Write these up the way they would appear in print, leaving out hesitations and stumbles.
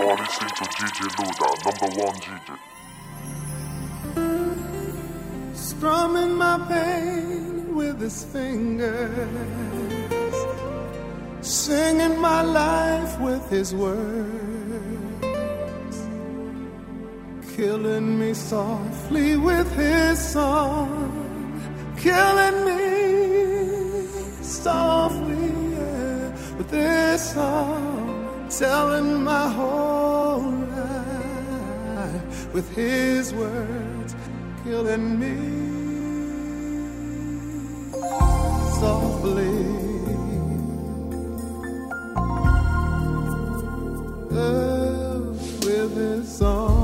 are listening to DJ Luda, number one DJ. Strumming my pain with his fingers, singing my life with his words, killing me softly with his song, killing me softly with this song, telling my whole life with his words, killing me softly with his song.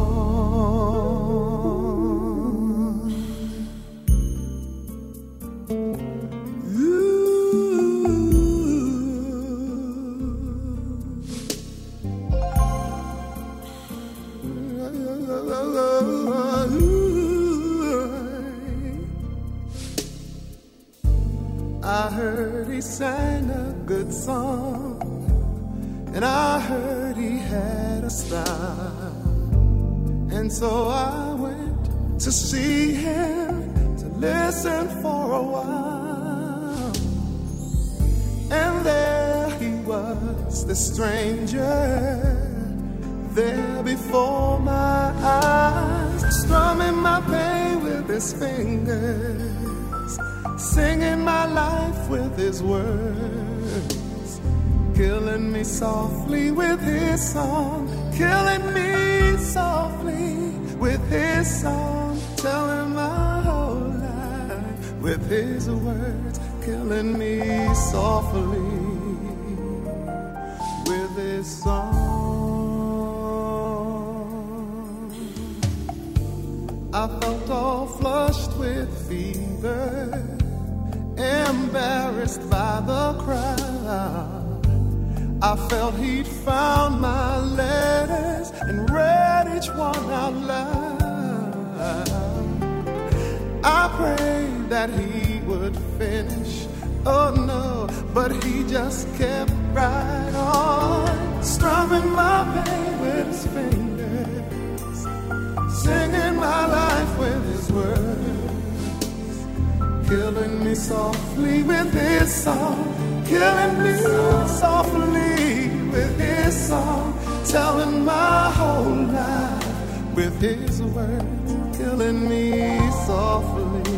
I heard he sang a good song, and I heard he had a style, and so I went to see him, to listen for a while. And there he was, the stranger, there before my eyes, strumming my pain with his fingers, singing my life with his words, killing me softly with his song, killing me softly with his song, telling my whole life with his words, killing me softly with his song. I felt all flushed with fever, embarrassed by the crowd. I felt he'd found my letters and read each one out loud. I prayed that he would finish, oh no, but he just kept right on, strumming my pain with his fingers, singing my life with his words, killing me softly with his song, killing me softly with his song, telling my whole life with his words, killing me softly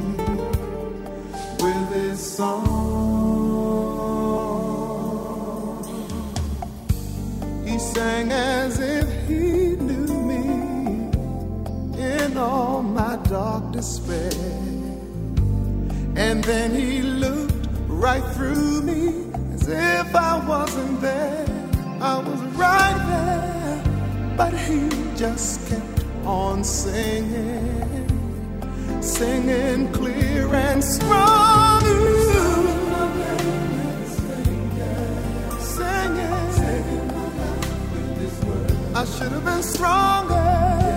with his song. He sang as if he knew me in all my dark despair, and then he looked right through me as if I wasn't there. I was right there, but he just kept on singing, singing clear and strong. Singing, I should have been stronger.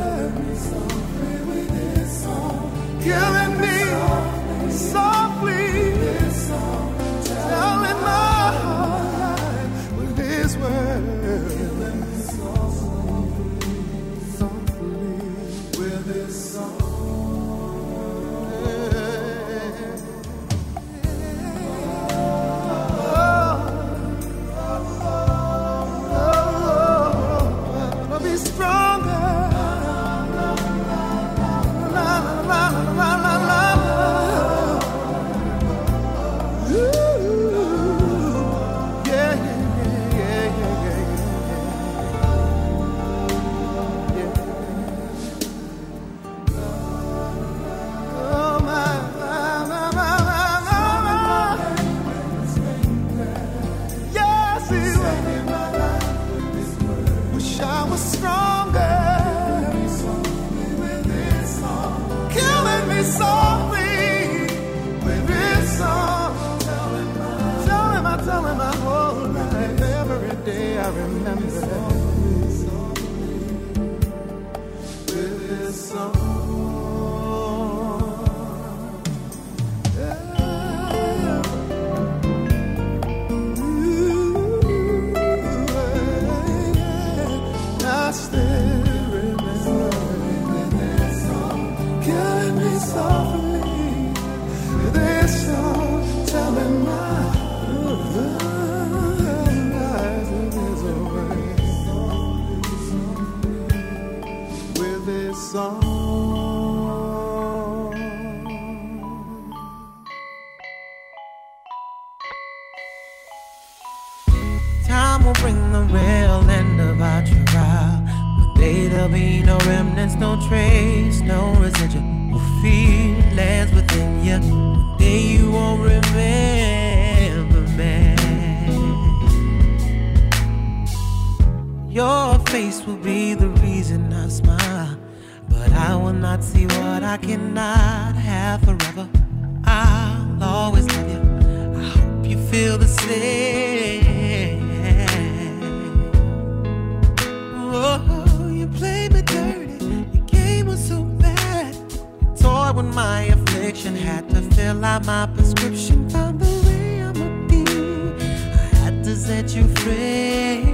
Killing me softly, telling my whole life with his words, killing me softly with his song. I'll be stronger. tail end of our trial. One day there'll be no remnants, no trace, no residual feelings within you. One day you won't remember me. Your face will be the reason I smile, but I will not see what I cannot have forever. I'll always love you. I hope you feel the same. Oh, you played me dirty. Your game was so bad. You toyed with my affliction, had to fill out my prescription. Found the way I'ma be. I had to set you free.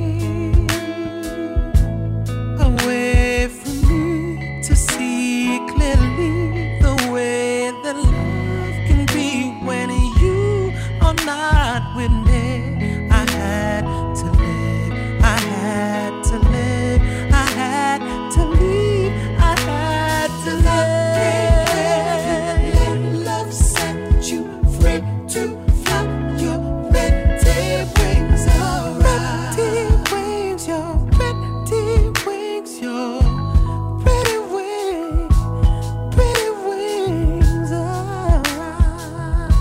Away from me to see clearly the way that love can be when you are not with me. I had to live, I had to live, I had to leave, I had to live. Let love set you free to fly your pretty wings around. Pretty wings, your pretty wings, your pretty wings around.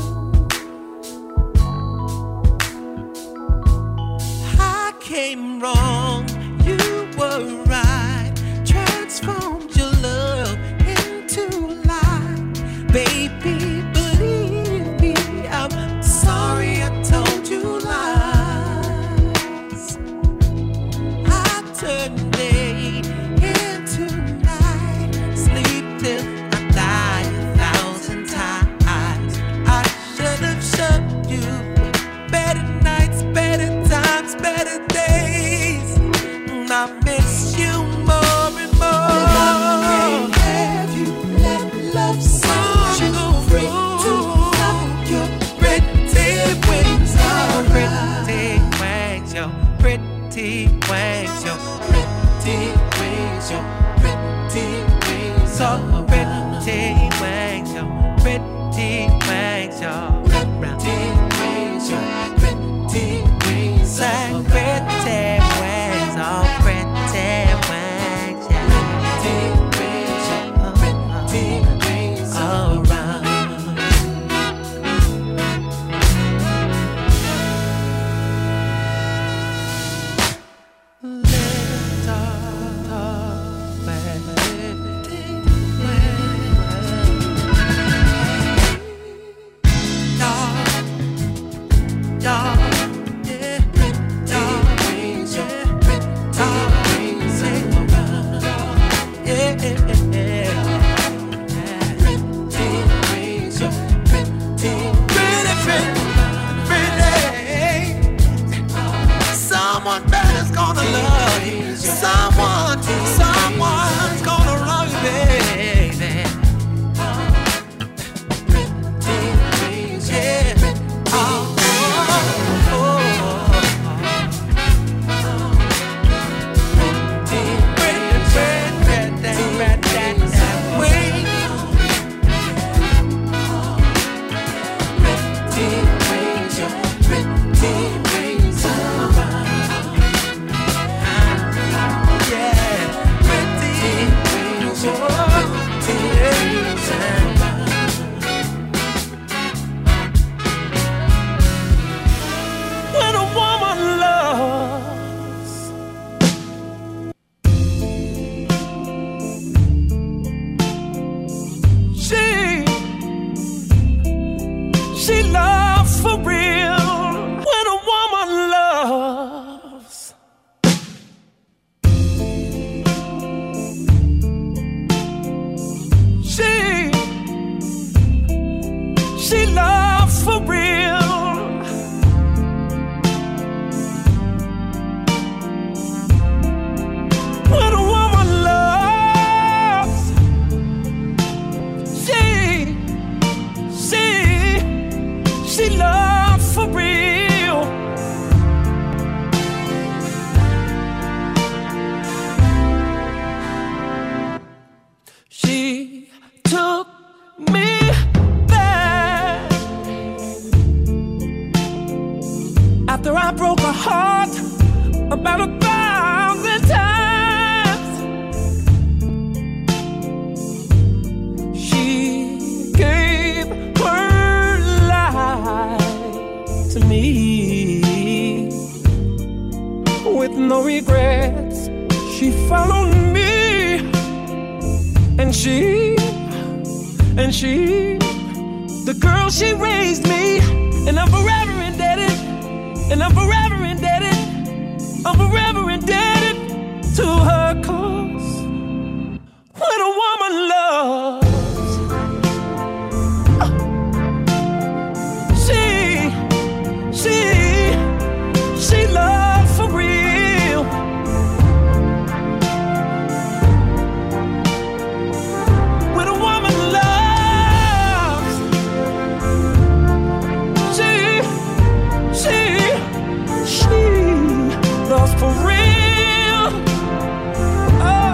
I came wrong, you were right. Transformed your love into light. Baby, believe me, I'm sorry I told you lies. I turned day into night, sleep till I die 1,000 times. I should have showed you better nights, better times, better days. I miss you more and more. Have you let love set you free to fly your pretty wings around? Pretty wings, your pretty wings, your pretty wings, your pretty wings, so pretty wings, your pretty wings, your pretty wings, your pretty wings, like pretty wings, oh pretty wings, yeah. Pretty wings around. Lift up, someone better's gonna love you. Someone's gonna love you, baby. Yeah. Yeah. about 1,000 times. She gave her life to me with no regrets. She followed me, and she, the girl she raised me, and I'm forever indebted, and I'm forever indebted, I'm forever indebted to her, 'cause when a woman loves, she loves for real. When a woman loves, she loves for real. Oh,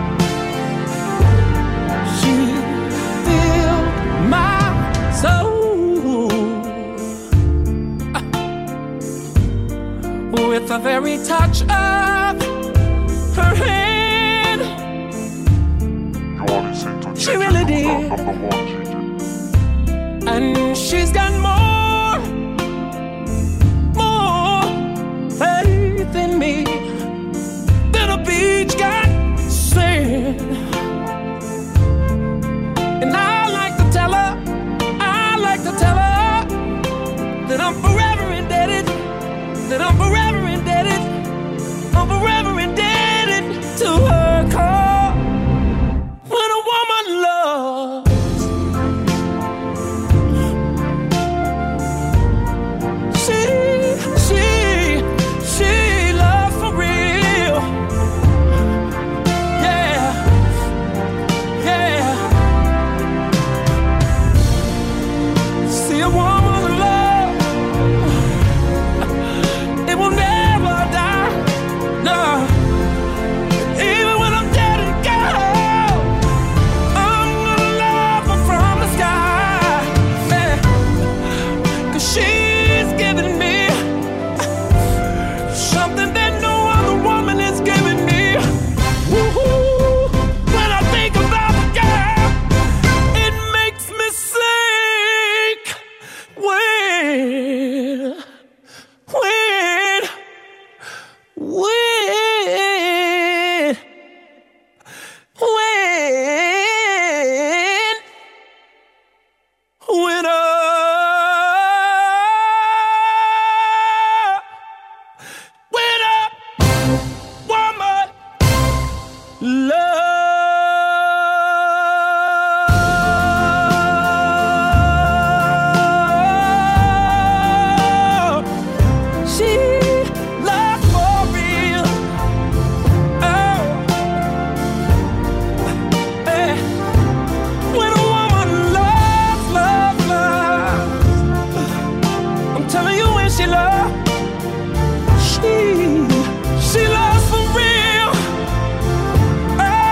she filled my soul with the very touch of her hand. You're listening to She really did. Number 1 DJ. And she's got more faith in me than a beach got sand. And I like to tell her that I'm forever indebted, that I'm forever indebted, I'm forever indebted to her call. When a woman loves, she loves for real. Yeah, yeah. See a woman's love, it will never die. No, even when I'm dead and gone, I'm gonna love her from the sky. Yeah. 'Cause she's giving me something that no other woman is giving me. Woo-hoo. When I think about the girl, it makes me sick. When woman love, she loves for real. Oh, eh. When a woman loves, I'm telling you, when she loves, she loves for real. Oh,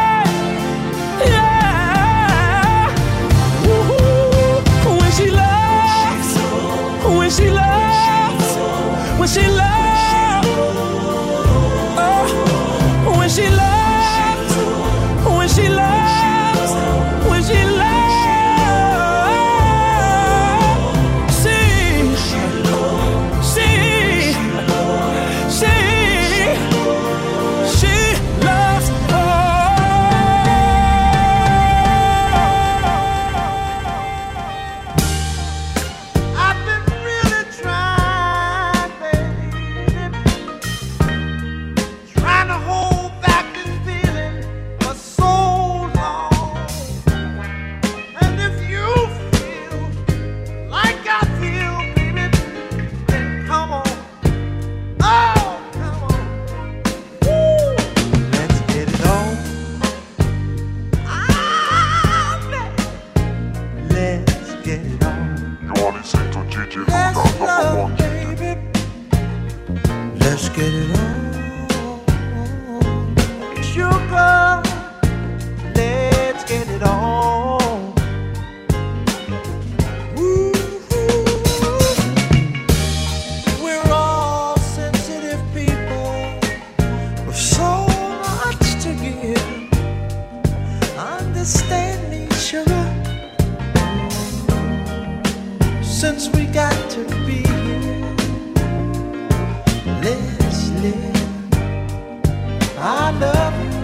love you.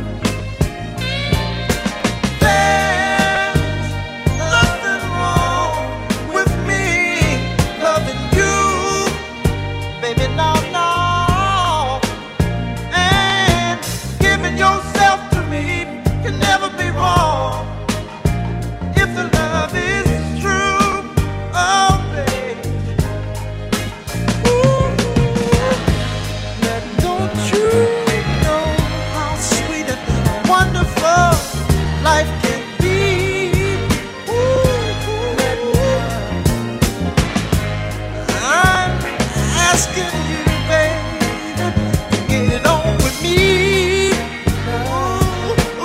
There's nothing wrong with me loving you, baby, no, no. And giving yourself to me can never be wrong if the love is true. Oh, baby. Ooh, don't you know how sweet and wonderful life can be? Ooh, I'm asking you, baby, to get it on with me. Ooh,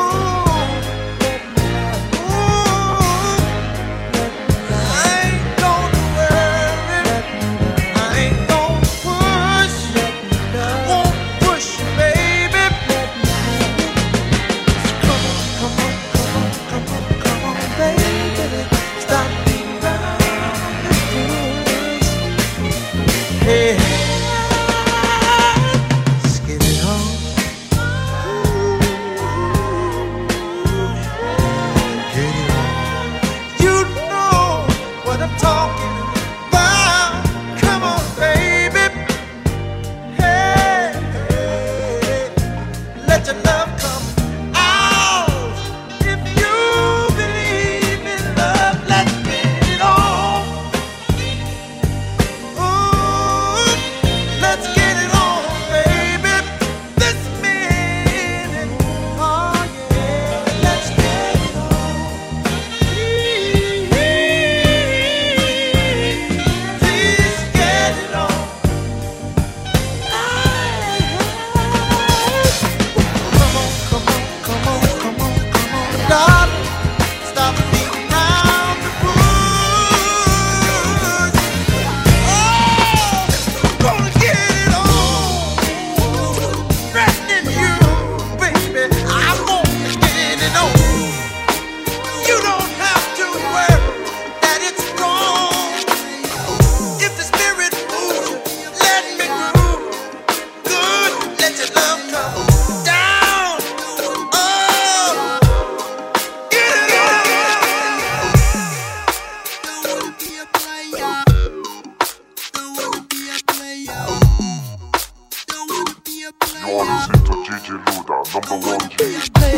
I ain't gonna worry, I ain't gonna push, won't push you, baby. Come on, come on, come on, come on, come on, baby. Stop beating around the bush. Hey, let's get it on. Get it on. You know what I'm talking about. Come on, baby. Hey, hey, let your love come out. If you believe in love, let's get it on. Ooh, let's get it on, baby. This minute, oh yeah, let's get it on. Please get it on. Come on, come on, come on, come on, come on, darling. Stop beating around the bush. Oh, gonna get it on. Resting you, baby. I'm gonna get it on. You don't have to worry that it's gone. If the spirit moves, let me move. Good, let your love come down. Oh, get it on. You are listening to DJ Luda, number one G.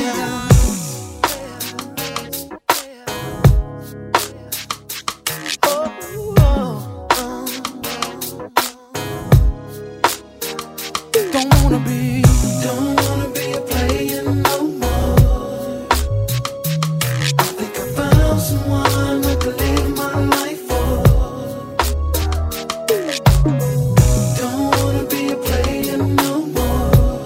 Don't wanna be a player no more. I think I found someone I could live my life for. Don't wanna be a player no more.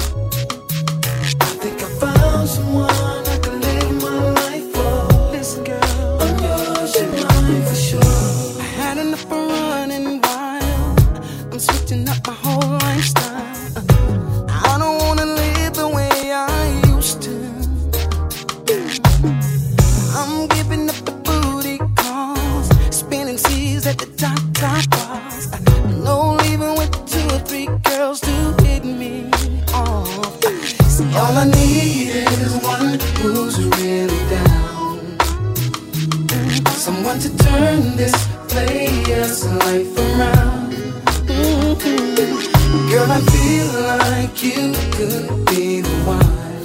I think I found someone I could live my life for. Listen, girl, I'm yours, you're mine for sure. I had enough of running wild. I'm switching up my whole lifestyle. I don't wanna live the way I used to. I'm giving up the booty calls, spinning seas at the top bars. No leaving with 2 or 3 girls to hit me off. See, all I need is one who's really down, someone to turn this player's life around. Girl, I feel like you could be the one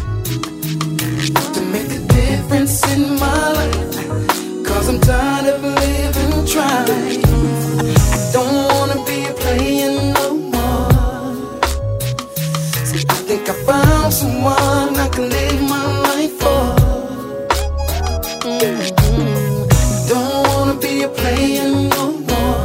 to make a difference in my life. 'Cause I'm tired of living trying. I don't wanna be a player no more. See, I think I found someone I can live my life for. Don't wanna be a player no more.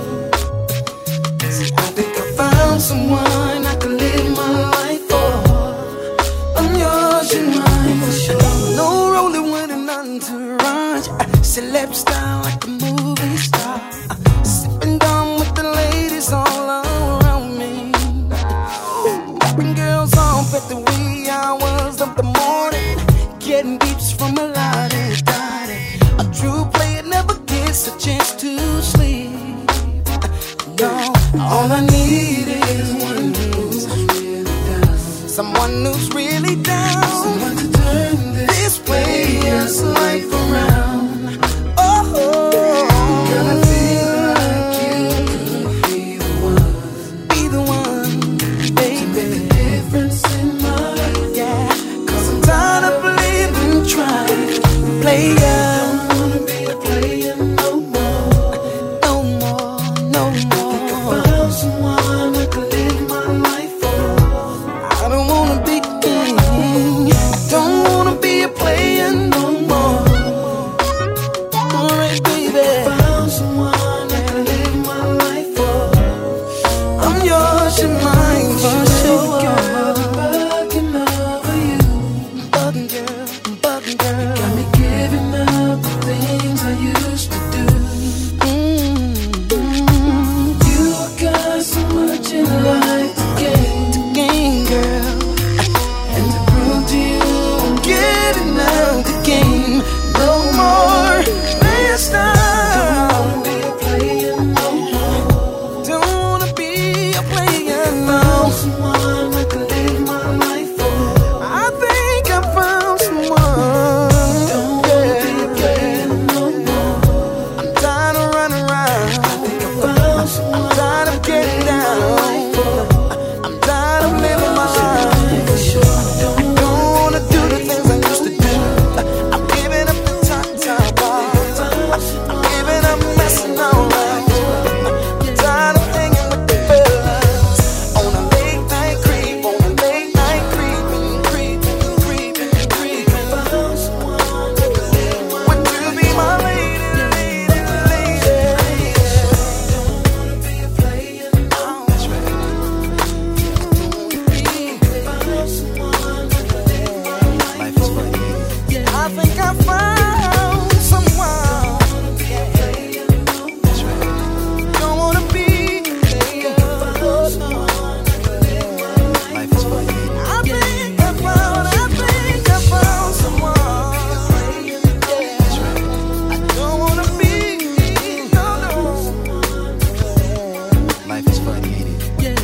See, I think I found someone I can live my life for. I'm yours, you're mine for sure. No rolling with an entourage, celeb style like a movie star. Sipping down with the ladies all around me. Bring girls off at the wee hours of the morning, getting beeps from a lot of daddy. A true player never gets a chance to sleep. No, all I need is one who's really down, someone who's really down. Someone to turn this way, this life around. Oh, girl, I feel like you could be the one. Be the one, baby. To make the difference in my life. Yeah, 'cause I'm tired of living, trying to play ya. Don't wanna be a player no more. No more, no more. I found someone I could live my life for. I don't wanna be king. Don't wanna be a player no more. Alright, baby. Found someone I could live my life for. I'm yours, you're mine for sure. Bugging over you. Bugging girl. Got me giving up the things I used to do. You got so much in life to gain, Game girl, and to prove to you I'm getting out the game. No more playing style. be a player no more. Don't wanna be a player now. Someone I could live my life for. I think I found someone. Don't wanna be a player no more. I'm tired of running around. Found someone I'm tired of getting down. I'm tired of living my life. for sure. Don't Don't wanna do the things I used to do. I'm giving up the time bars. I'm giving up messing around. I'm tired of hanging with the fellas. On a late night creep, on a late night creeping. found someone I could live my Would you be my lady? be a player no more. Found someone I could live my life for. I think I found someone. Don't wanna be Found someone I could live my life for. I think I found someone. I don't wanna be no. Life is funny, ain't it?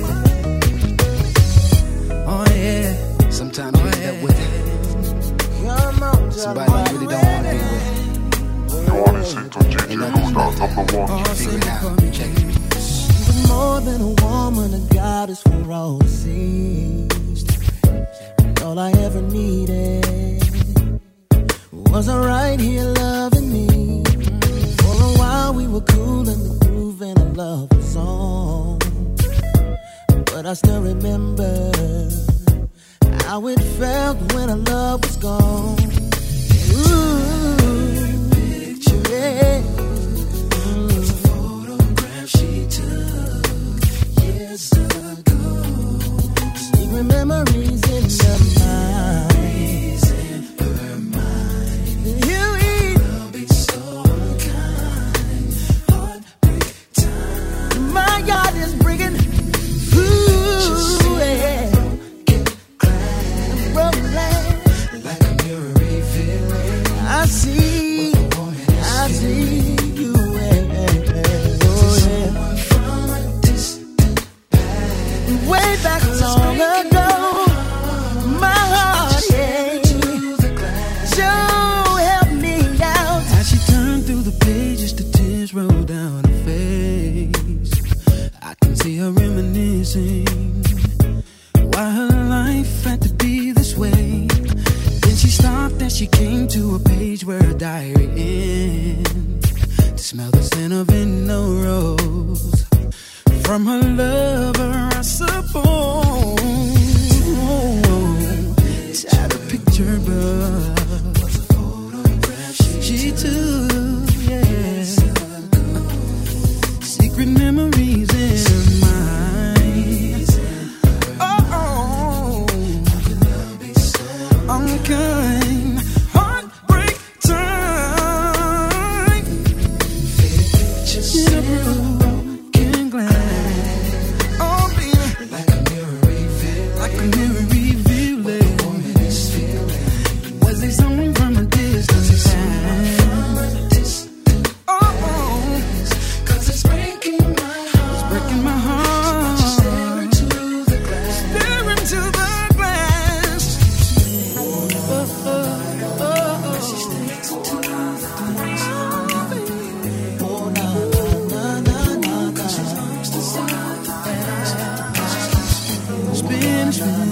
Oh yeah, Sometimes you end up with come on, somebody you really don't want to be with. You're listening to DJ Luda, number one. Figure it out. Check it. You're more than a woman, a goddess for all to see. And all I ever needed was her right here loving me. For a while we were cool in the groove and our love was on. But I still remember how it felt when our love was gone. Ooh, picture it. Photograph she took years ago. Secret memories in her mind. You will be so kind. Heartbreak time. My God is breaking. Ooh, yeah. Like a mirror revealing. I see you. Oh yeah. From a distant past, way back long ago. My heart, yeah. So help me out. As she turned through the pages, the tears roll down her face. I can see her reminiscing why her life had to be this way. Then she stopped as she came to a page where her diary ends. To smell the scent of a rose from her lover, I suppose. Tired of picture book she took, yeah. Secret memories in her mind. Oh, unkind heartbreak time. In a broken glass. Oh, baby.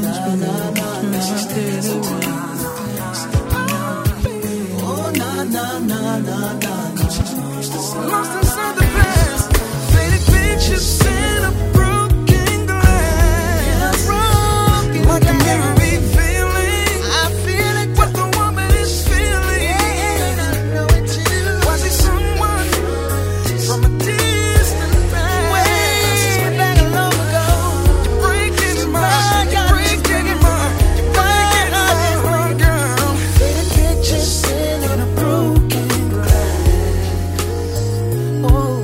Lost inside the past, faded pictures in a broken glass. Like a memory feeling, I feel it. What the woman is feeling, I know it too. Was it someone from a distant past? Way back long ago. You're breaking my heart, you're breaking my heart, girl. Faded pictures in a broken glass. Oh.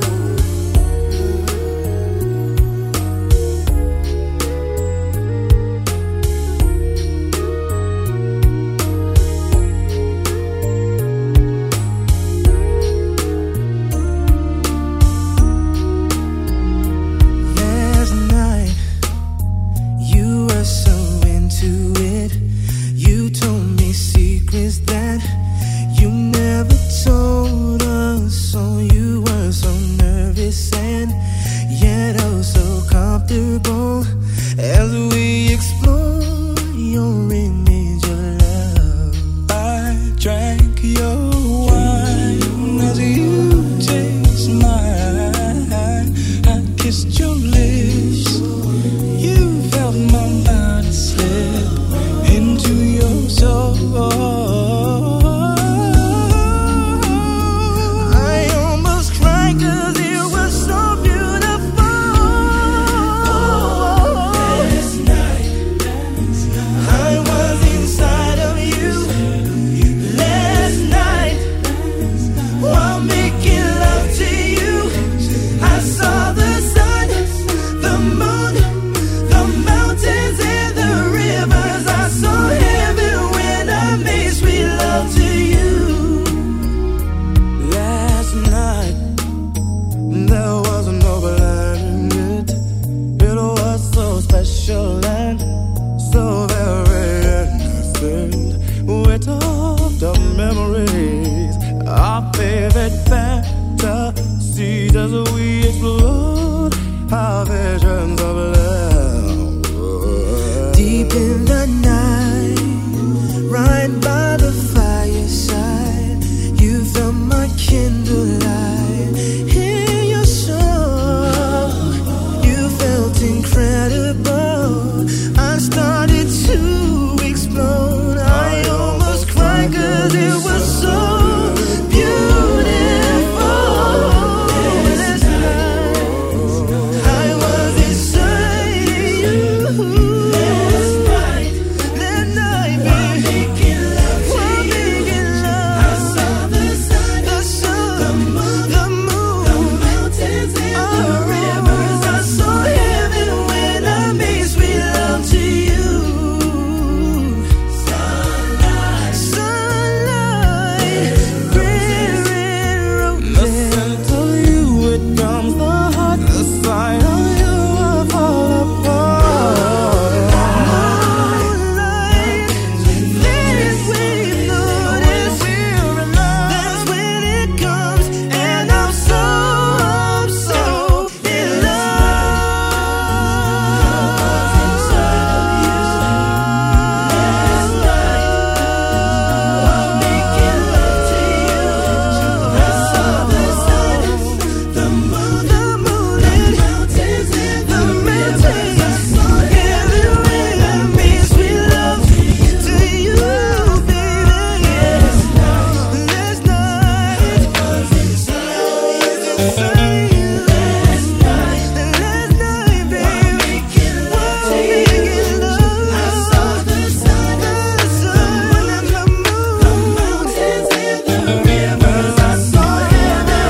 Last night, you were so into it. You told me secrets that you never told us. So you were so nervous and yet oh so comfortable as we explore your image of love. I drank your wine as you taste mine. I kissed your lips. You felt my body slip into your soul. I almost cried 'cause it was so beautiful. Last night, I was inside of you. Last night, while making love to you, I saw the sun, the moon, the mountains and the rivers. I saw heaven when I made sweet love to you. Last night, there was no blanket. It was so special and so very innocent. We talked of memories, our favorite fantasies as we explored our visions of love. Deep in the night, right by the fireside, you felt my candlelight in your soul. You felt incredible. I started to explode. I almost cried 'cause it was so beautiful. Last night, I was inside you. Last night, baby, making love to you. I saw the sun, the moon, the mountains and the rivers. I saw heaven when I made sweet love to you. Sunlight, red roses. The scent of you, it comes the heart. The sight of you, I fall apart. Moonlight, this way you notice we're in love. That's when it comes, and I'm so in love. Inside of you. Last night, while making love to you, I saw the sun, the moon, and the mountains and the rivers. I saw heaven when I made sweet love to you, baby. Last night, I was inside you. Last night, baby, making love to you. I saw the sun, the moon, and the mountains and the rivers. I saw heaven.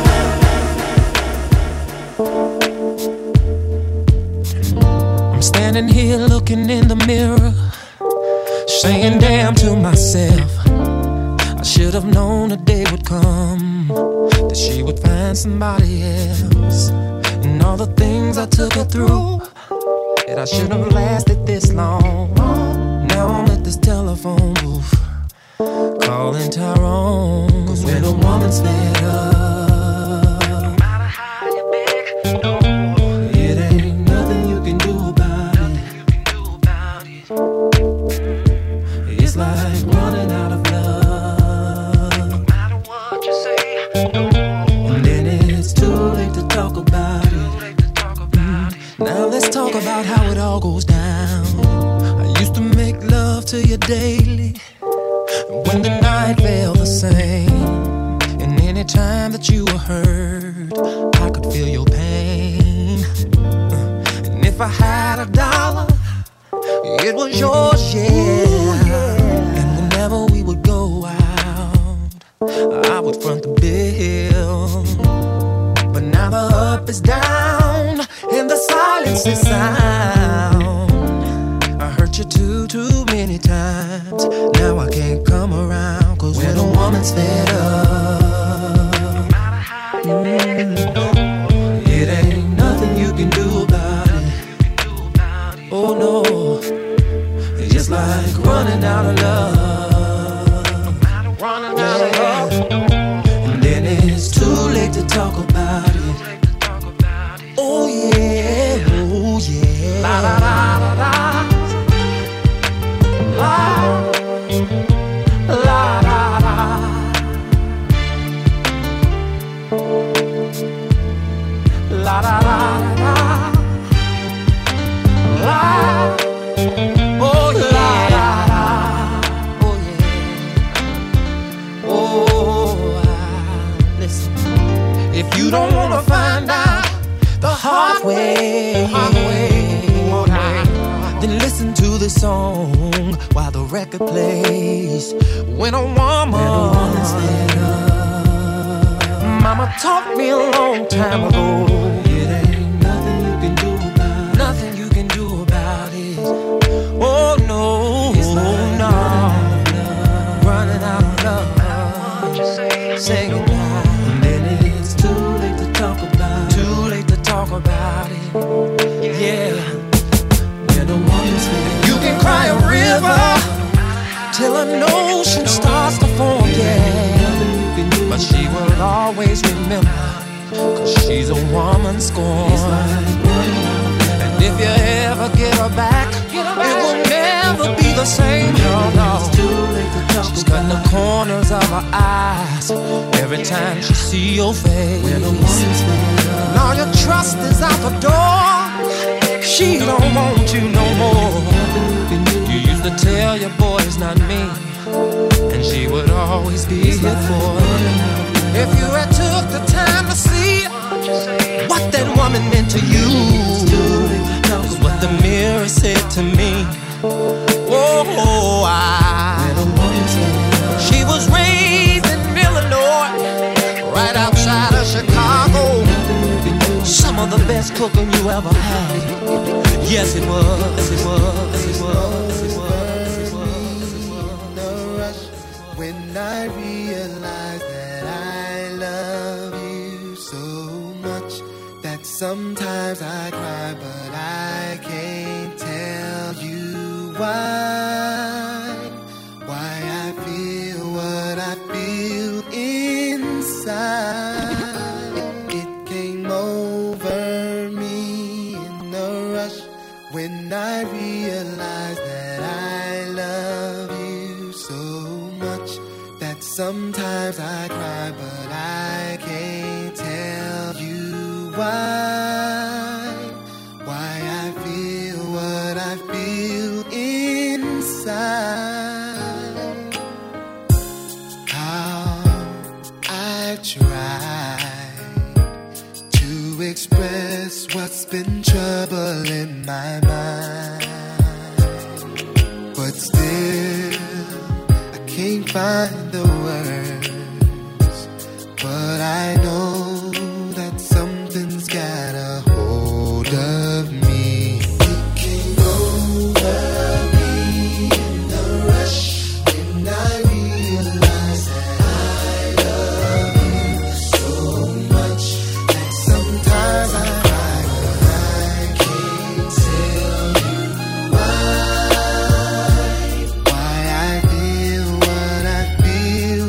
I'm standing here looking in the mirror, saying damn to myself. I should have known a day would come that she would find somebody else. And all the things I took her through, that I shouldn't have lasted this long. Now I'm at this telephone booth, calling Tyrone. 'Cause when a woman's fed up, no matter how you beg, no, it ain't nothing you can do about it. It's like running out of love. No matter what you say, and then it's too late to talk about it. Now let's talk about how it all goes down. I used to make love to you daily when the night felt the same. And any time that you were hurt, I could feel your pain. And if I had $1, it was yours, yeah. And whenever we would go out, I would front the bill. But now the up is down and the silence is sound. I hurt you too many times. Now I can't come around. Cause when a woman's fed up, it ain't nothing you can do about it. Oh no, it's just like running out of love. Running out of love. And then it's too late to talk about it. Oh yeah, oh yeah. La la la la la. La la la la. La la la la. La. Oh yeah. Oh yeah. Oh, listen. If you don't wanna find out the hard way, then listen to this song while the record plays. When a woman's fed up, Mama taught me a long time ago. It ain't nothing you can do about it. Nothing you can do about it. Oh no, it's like no, running out of love. Say goodbye, and then it's too late to talk about it. Too late to talk about it. Yeah. When a woman's fed, you can cry a river till an ocean starts to form, yeah. But she will always remember, cause she's a woman scorned. And if you ever get her back, it will never be the same. No. She's cutting the corners of her eyes every time she see your face. And all your trust is out the door. She don't want you no more. You used to tell your boy it's not me, and she would always be here for you. If you had took the time to see what that woman meant to you, is what the mirror said to me. Oh, she was raised in Illinois, right outside of Chicago. Some of the best cooking you ever had. Yes, it was. It was. It was. It was. It was. The rush when I realize that I love you so much that sometimes I cry, but I can't tell you why I feel what I feel inside. It came over me in a rush when I realized that I love you so much that sometimes I cry, but I can't tell you why I feel what I feel inside. How I try to express what's been troubling my mind, but still I can't find the words. But I know that something's got a hold of me. It came over me in the rush when I realized that I love you so much that sometimes I cry, but I can't tell you why I feel what I feel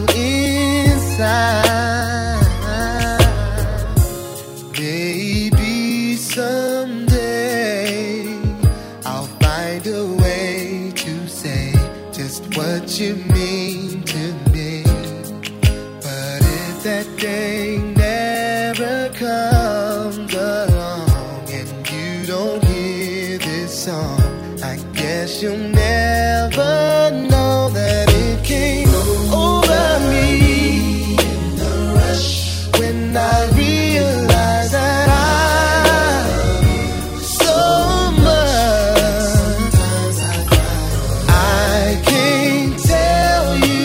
what you mean to me. But if that day never comes along and you don't hear this song, I guess you'll never know that it came over me in the rush when I realized that I love you so much. Sometimes I cry. I can't tell you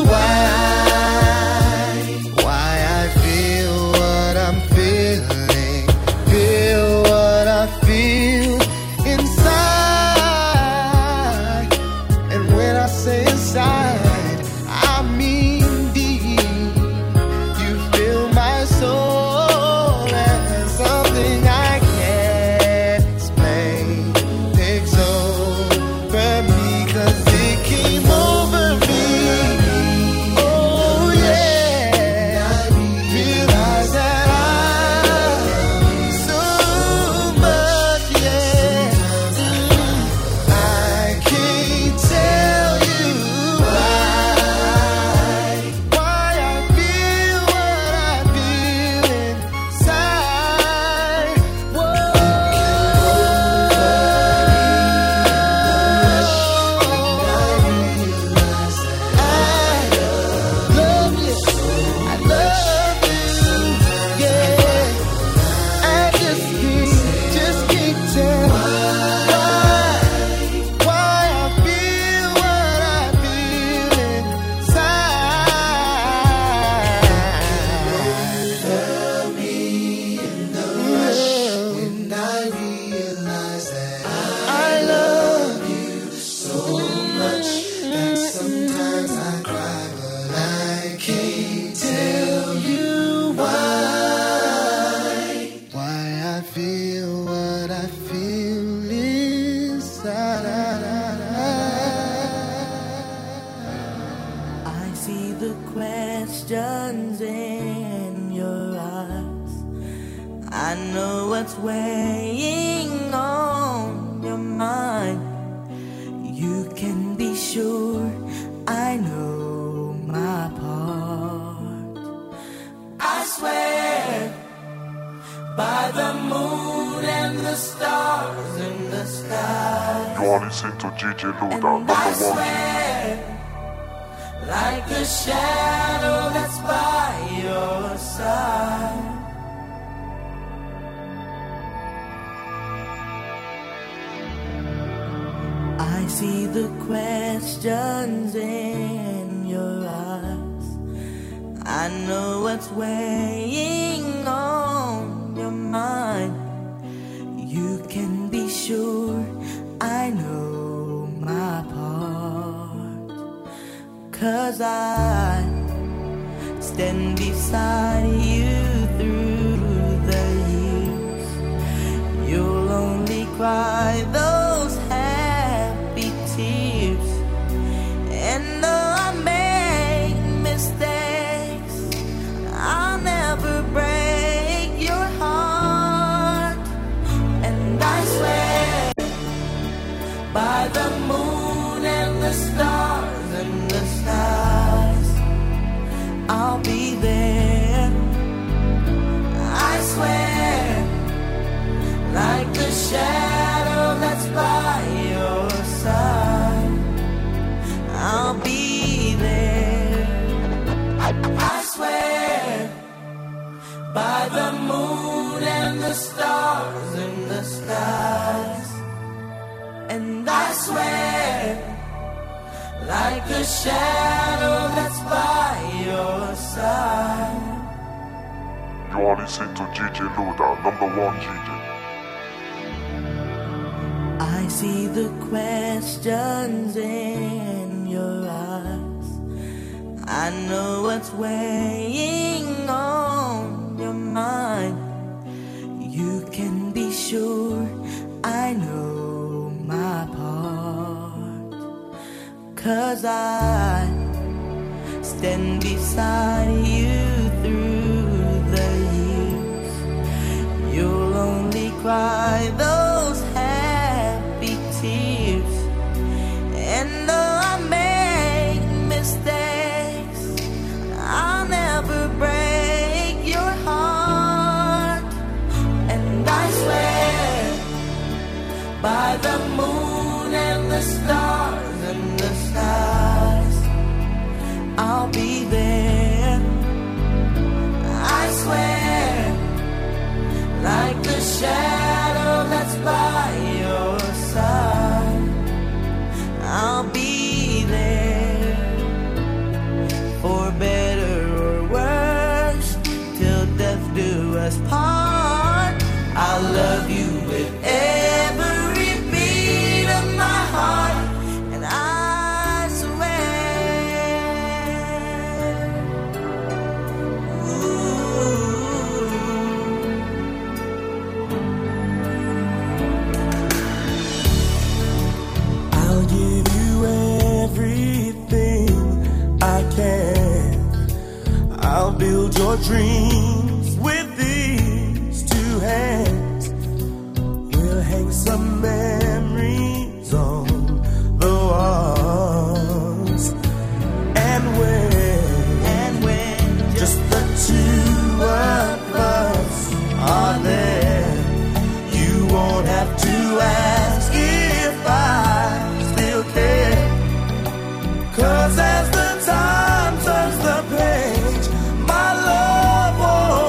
why I feel what I'm feeling, feel what I feel inside. And when I say inside, I mean deep. You fill my soul, and something I can't explain takes over me, 'cause it came over me. Oh yeah, I realized that I love you so much, yeah. I can't tell you why I feel what I feel inside. Whoa. I love you, yeah. I just can't tell why I feel what I feel inside. Love me in the rush when I realize that I love you so much that sometimes I cry, but I can't tell you why I feel what I feel inside. I see the questions in your eyes. I know what's weighing on your mind. You can be sure I know my part. I swear by the moon and the stars in the sky. You are listening to DJ Luda, And number I 1 G. swear, like a shadow that's by your side. I see the questions in your eyes. I know what's weighing on your mind. You can be sure I know my part. 'Cause I stand beside you through the years. You'll only cry those happy tears. And though I make mistakes, I'll never break your heart. And I swear by the moon and the stars and the stars, I'll be there. I swear, like the shadow that's by your side, I'll be there. I swear by the moon and the stars in the skies. And I swear, like a shadow that's by your side. You are listening to DJ Luda, number 1 G. I see the questions in your eyes. I know what's weighing on your mind. You can be sure I know my part. 'Cause I stand beside you through the years. You'll only cry those happy tears. And though I may the stars and the skies, I'll be there. I swear, like the shadow that's by your side, I'll be there. For better or worse, till death do us part, I'll love you with every beat of my heart, and I swear. Ooh. I'll give you everything I can. I'll build your dreams with these two hands. We'll hang some memories on the walls. And when just the two of us are there, you won't have to ask if I still care. 'Cause as the time turns the page, my love won't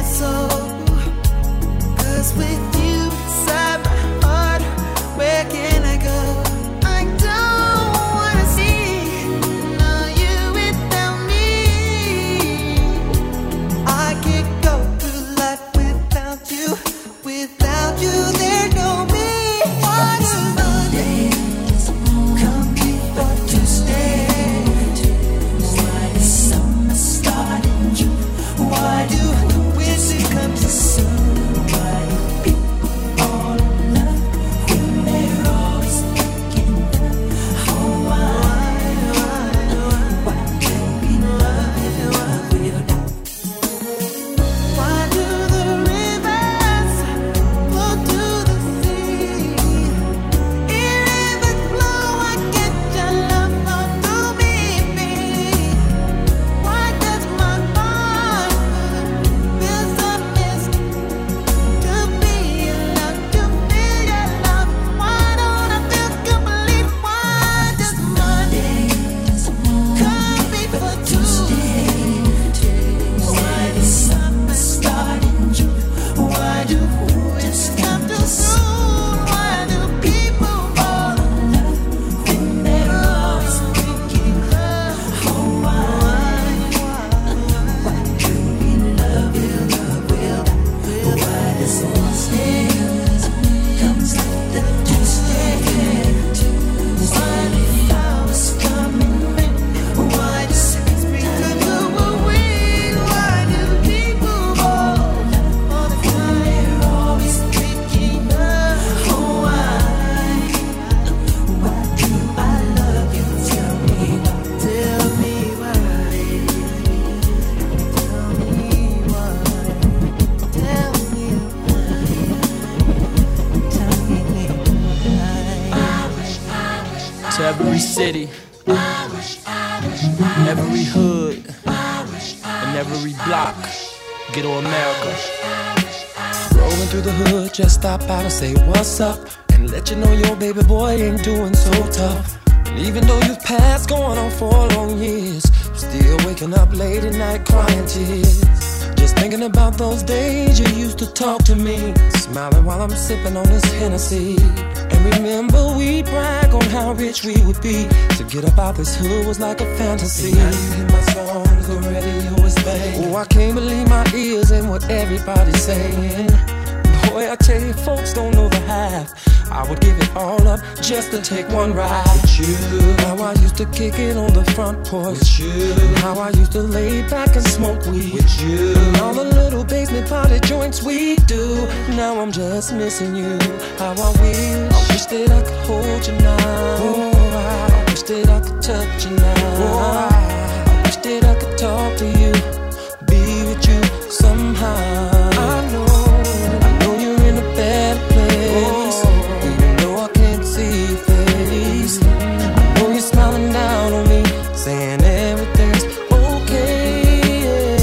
soul. 'Cause with you inside my heart, where can I go? I don't wanna see you without me. I can't go through life without you. Without you, there's no me. Why do Mondays come before Tuesday? Why does summer start in June? Why do winter come so soon? Why do people fall in love when they're always thinking of why do we love you? Why do the rivers flow to the sea? In rivers flow, I get your love flow through me. Why does my heart feel so missed? To be alone, to feel your love. Why don't I feel complete? Why does Mondays come before Tuesday? Why does summer start in June? Why do winters come too soon? Why do people fall in love when they're always thinking of why do we love you? Why does Wednesdays comes after Tuesday? Why do flowers come in May? Why does spring come to a wind? Why do people fall in love all the time? They're always thinking of why do I love you? Tell me why. Tell me why. Tell me why. To every city, every hood, and every block, Ghetto America. Rolling through the hood, just stop out and say what's up, and let you know your baby boy ain't doing so tough. And even though you've passed going on 4 long years, I'm still waking up late at night crying tears. Just thinking about those days you used to talk to me, smiling while I'm sipping on this Hennessy. And remember we brag on how rich we would be. To get up out this hood was like a fantasy. And now you hear my songs, the radio is banging. Oh, I can't believe my ears and what everybody's saying. Boy, I tell you, folks don't know the half. I would give it all up just to take one ride with you. How I used to kick it on the front porch with you. How I used to lay back and smoke weed with you. And all the little basement party joints we do. Now I'm just missing you. How I wish that I could hold you now. Oh, I wish that I could touch you now. Oh, I wish that I could talk to you, be with you somehow. I know you're in a bad place. Even though I can't see your face, I know you're smiling down on me, saying everything's okay.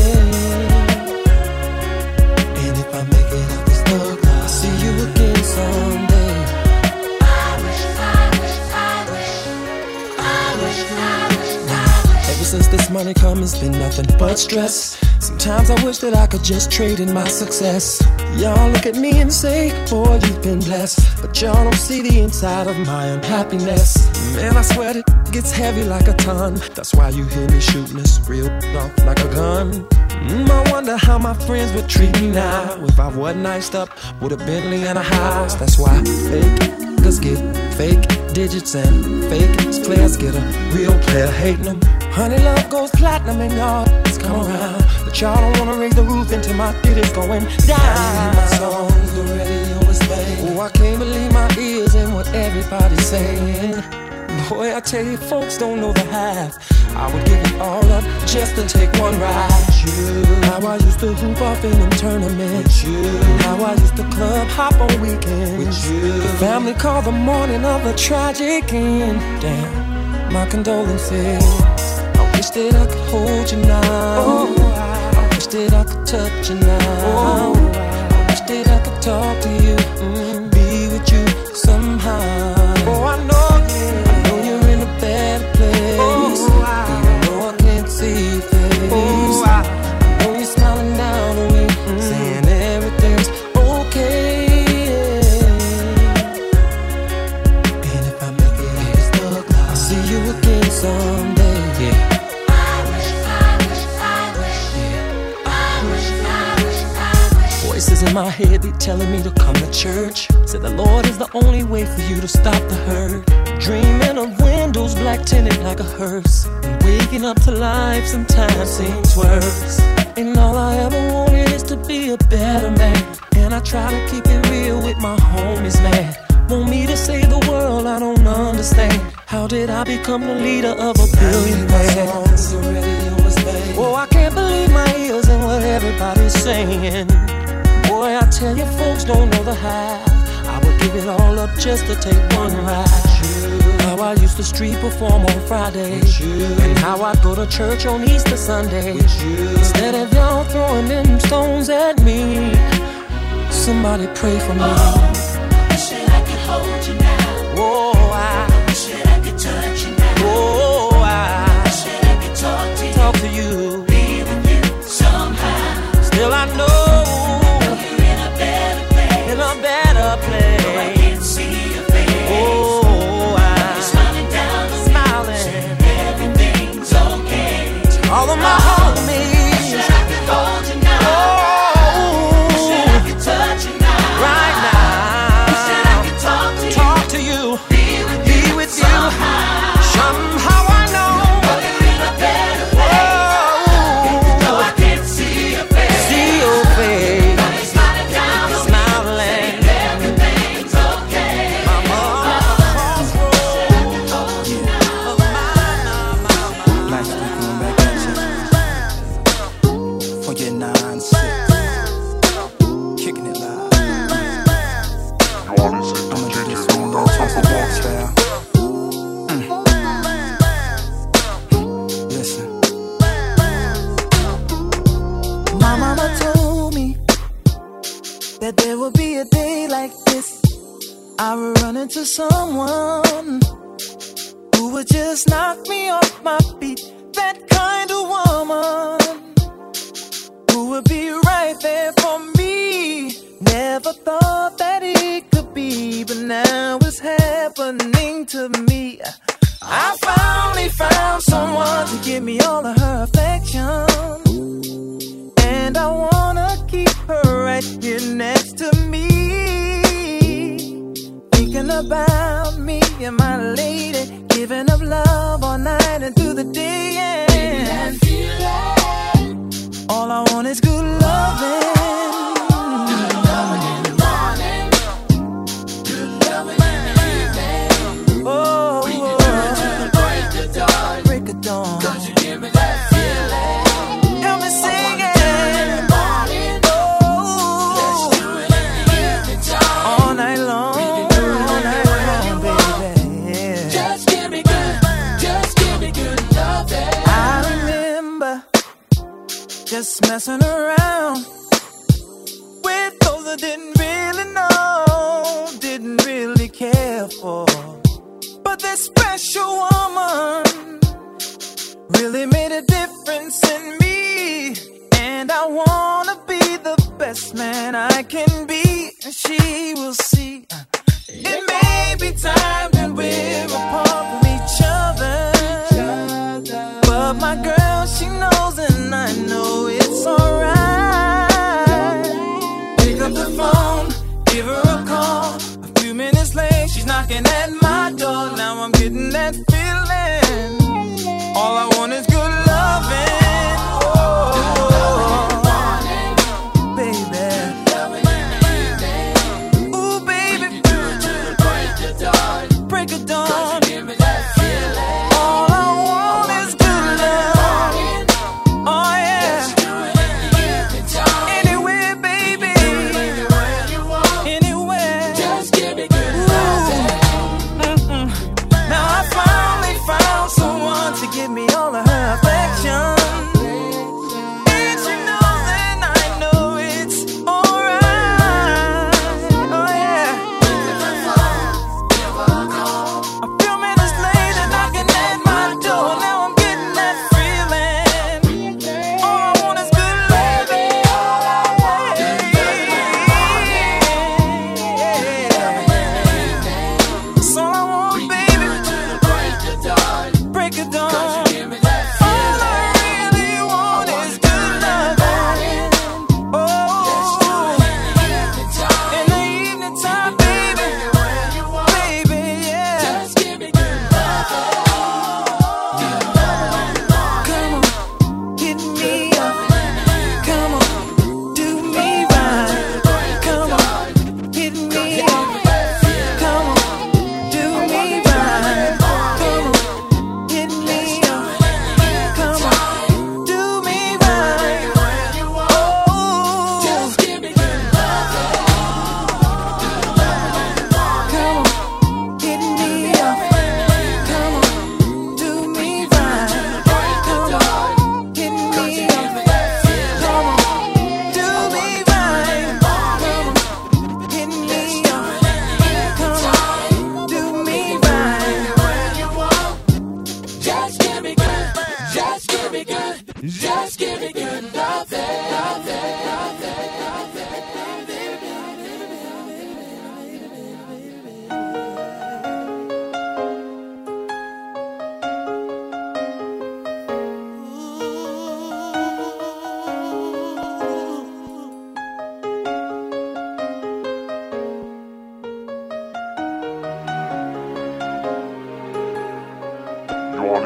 And if I make it out this thug, I'll see you again someday. Ever since this money come, it's been nothing but stress. Sometimes I wish that I could just trade in my success. Y'all look at me and say, boy, you've been blessed. But y'all don't see the inside of my unhappiness. Man, I swear it gets heavy like a ton. That's why you hear me shooting this real off like a gun. I wonder how my friends would treat me now if I wasn't iced up with a Bentley and a house. That's why fake niggas get fake digits and fake players get a real player hating them. Honey, love goes platinum and y'all come around, but y'all don't wanna raise the roof until my titties going down. My songs, the radio is playing. Oh, I can't believe my ears and what everybody's saying. Boy, I tell you, folks don't know the half. I would give it all up just to take one ride with you. How I used to hoop off in them tournaments with you. How I used to club hop on weekends with you. The family called the morning of a tragic end. Damn, my condolences. I wish that I could hold you now. Oh, I wish that I could touch you now. Oh, I wish that I could talk to you, be with you somehow. Oh, I know you're in a bad place. Even though I can't see your face, I know you're smiling down on me, saying Voices in my head be telling me to come to church. Said the Lord is the only way for you to stop the hurt. Dreaming of windows black tinted like a hearse, and waking up to life sometimes seems worse. And all I ever wanted is to be a better man, and I try to keep it real with my homies, man. Want me to save the world, I don't understand. How did I become the leader of a billion man? Oh, I can't believe my ears and what everybody's saying. Boy, I tell you, folks don't know the half. I would give it all up just to take one ride. How I used to street perform on Friday, and how I'd go to church on Easter Sunday. Instead of y'all throwing them stones at me, somebody pray for me. Wish that I could hold you now. Oh, wish that I could touch you now. Oh, wish that I could talk to you. Be with you somehow. Still I know you're in a better place. In a better place. Though I can't see your face. Oh, you're smiling down on me, saying everything's okay. All of my homies. Wish that I could hold you now. Wish that I could touch you now. Right now. Wish that I could talk to you. Be with you somehow I know you're in a better place. Though I can't see your face. See your face. You're smiling down on me, saying everything's okay. Last week going back at you for your nonsense, kicking it loud. You're listening to DJ Luda, number one G. Listen. My mama told me that there would be a day like this. I would run into someone who would just knock me off my feet. That kind of woman who would be right there for me. Never thought that it could be, but now it's happening to me. I finally found someone to give me all of her affection, and I wanna keep her right here next to me. Thinking about me and my lady, giving up love all night and through the day. And all I want is good loving. Oh, break of dawn. Cause you give me that feeling. Help me sing it. Oh, all night long, baby. Just give me good loving. I remember just messing around with those I didn't really know, didn't really care for. But this special woman really made a difference in me, and I wanna be the best man I can be. And she will see it may be time that we're apart from each other, but my girl, she knows, and I know it's alright. Pick up the phone, give her a call. A few minutes late, she's knocking at my door. Now I'm getting that feeling. All I want is good loving. Oh, baby. Ooh, baby. Break of dawn.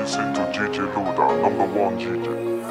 listening to DJ Luda, #1 DJ.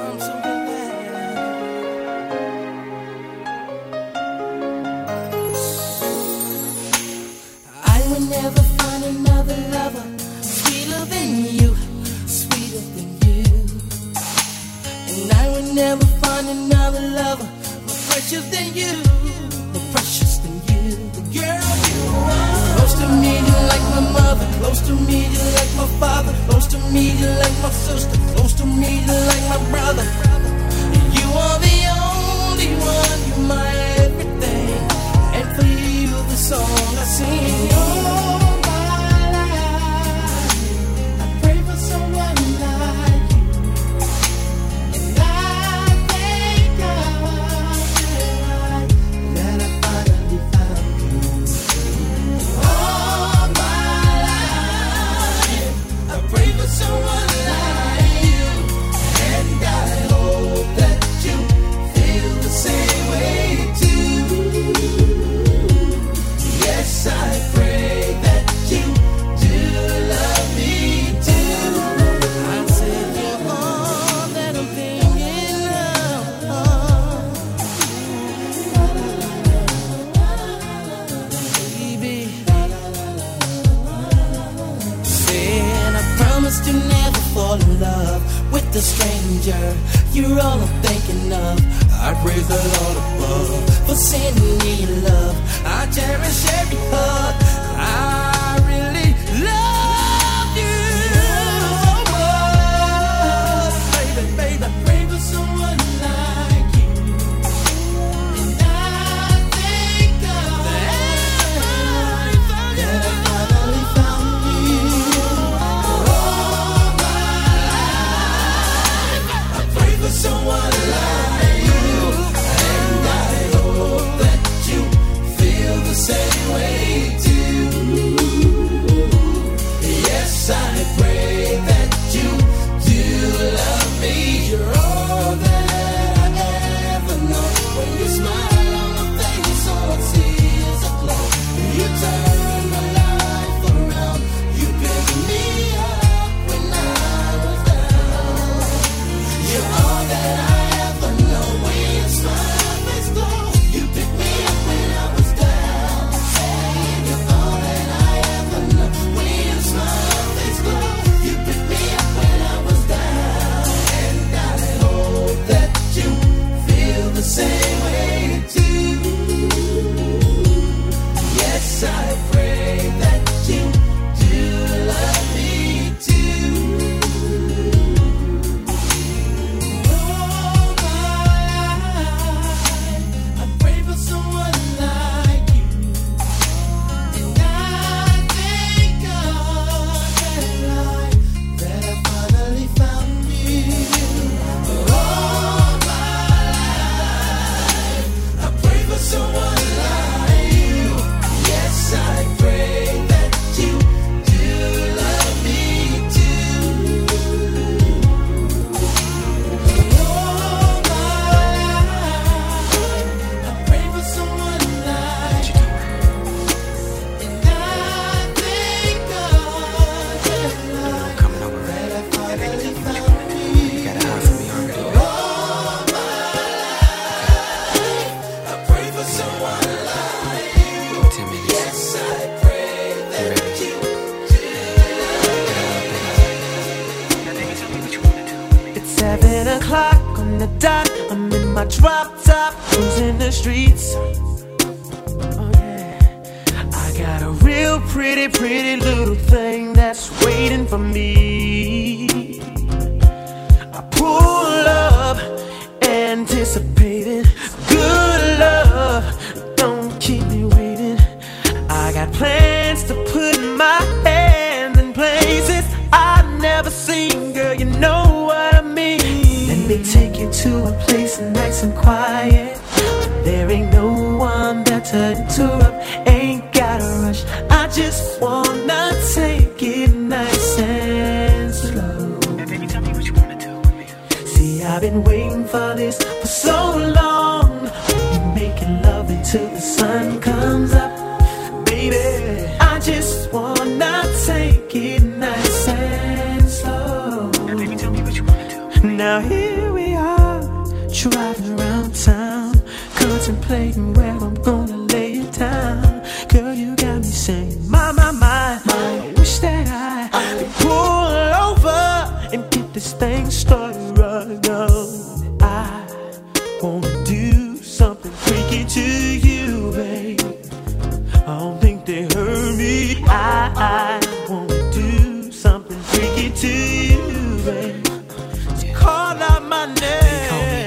I will never find another lover sweeter than you, sweeter than you. And I will never find another lover more precious than you, more precious than you. The girl you are. Close to me, you're like my mother. Close to me, you're like my father. Close to me, you're like my sister. Close to me, you're like my brother. You are the only one, you're my everything. And for you, the song I sing. All my life, I pray for someone like you. And I thank God that I finally found you. All my life, I pray for someone like you. And I hope that you feel the same way too. Yes, I pray that you do love me too. I said you're all that I'm thinking of, baby. Said I promised to never fall in love with a stranger. You're all I'm thinking of. I praise the Lord above for sending me your love. I cherish every hug. I really love you so much, baby, baby. Pray for someone like you. And I thank God that I finally found you. All my life, I pray for someone like you. And I hope that you feel the same way too. Yes, I pray that you do love me. You're all that I ever know. When you smile on my face, all I see is a glow. You turn my life around. You picked me up when I was down. You're all that I ever know. When you smile, face glow. You picked me up when I was down. You're all that I ever know. When you smile, face glow. You picked me up when I was down. And I hope that you feel the same way too. Yes, I pray that you do love me too. All my life, I pray for someone like you. And I thank God that I finally found you. All my life, I pray for someone like you. Yes, I pray that you do love me too. All my life, I pray for someone like you. And I thank God that I finally found you. You got a heart for me already. All my life, I pray for someone like you. 10 minutes. Yes, I pray that you do love me. It's 7 o'clock on the dot. I'm in my drop top, cruising the streets. Oh yeah, I got a real pretty, pretty little thing that's waiting for me. I pull up, anticipating good love. Don't keep me waiting. I got plans to put my hand in places I've never seen. Girl, you know what I mean. Let me take you to a place nice and quiet. There ain't no one there to interrupt. Ain't gotta rush. I just wanna take it nice and slow. Baby, tell me what you wanna do with me. See, I've been waiting for this for so long. We're making love until the sun comes up. Baby, I just wanna take it nice and slow. contemplating where I'm gonna lay it down. Girl, you got me saying, my, I wish that I could pull over and get this thing started right now. I wanna do something freaky to you, babe. I don't think they heard me. I wanna do something freaky to you, babe. So call out my name. They call me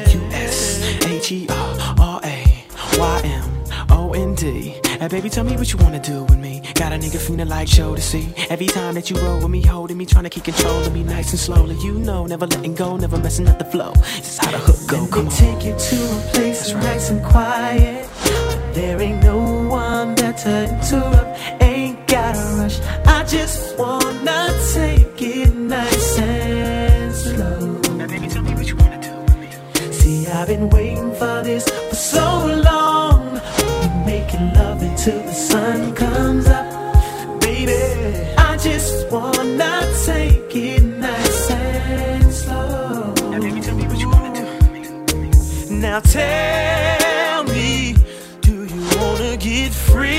USHERRAYMOND. Hey baby, tell me what you wanna do with me. Got a nigga feeling like show to see. Every time that you roll with me, holding me, trying to keep control of me nice and slowly. You know, never letting go, never messing up the flow. This is how the hook go. Come on. Take you to a place that's nice and quiet. There ain't no one there to interrupt. Ain't gotta rush. I just wanna take it nice and slow. Now baby, tell me what you wanna do with me. See, I've been waiting for this for so long. Making love until the sun comes up. Baby, I just wanna take it nice and slow. Now baby, tell me what you wanna do with me. Now tell me, do you wanna get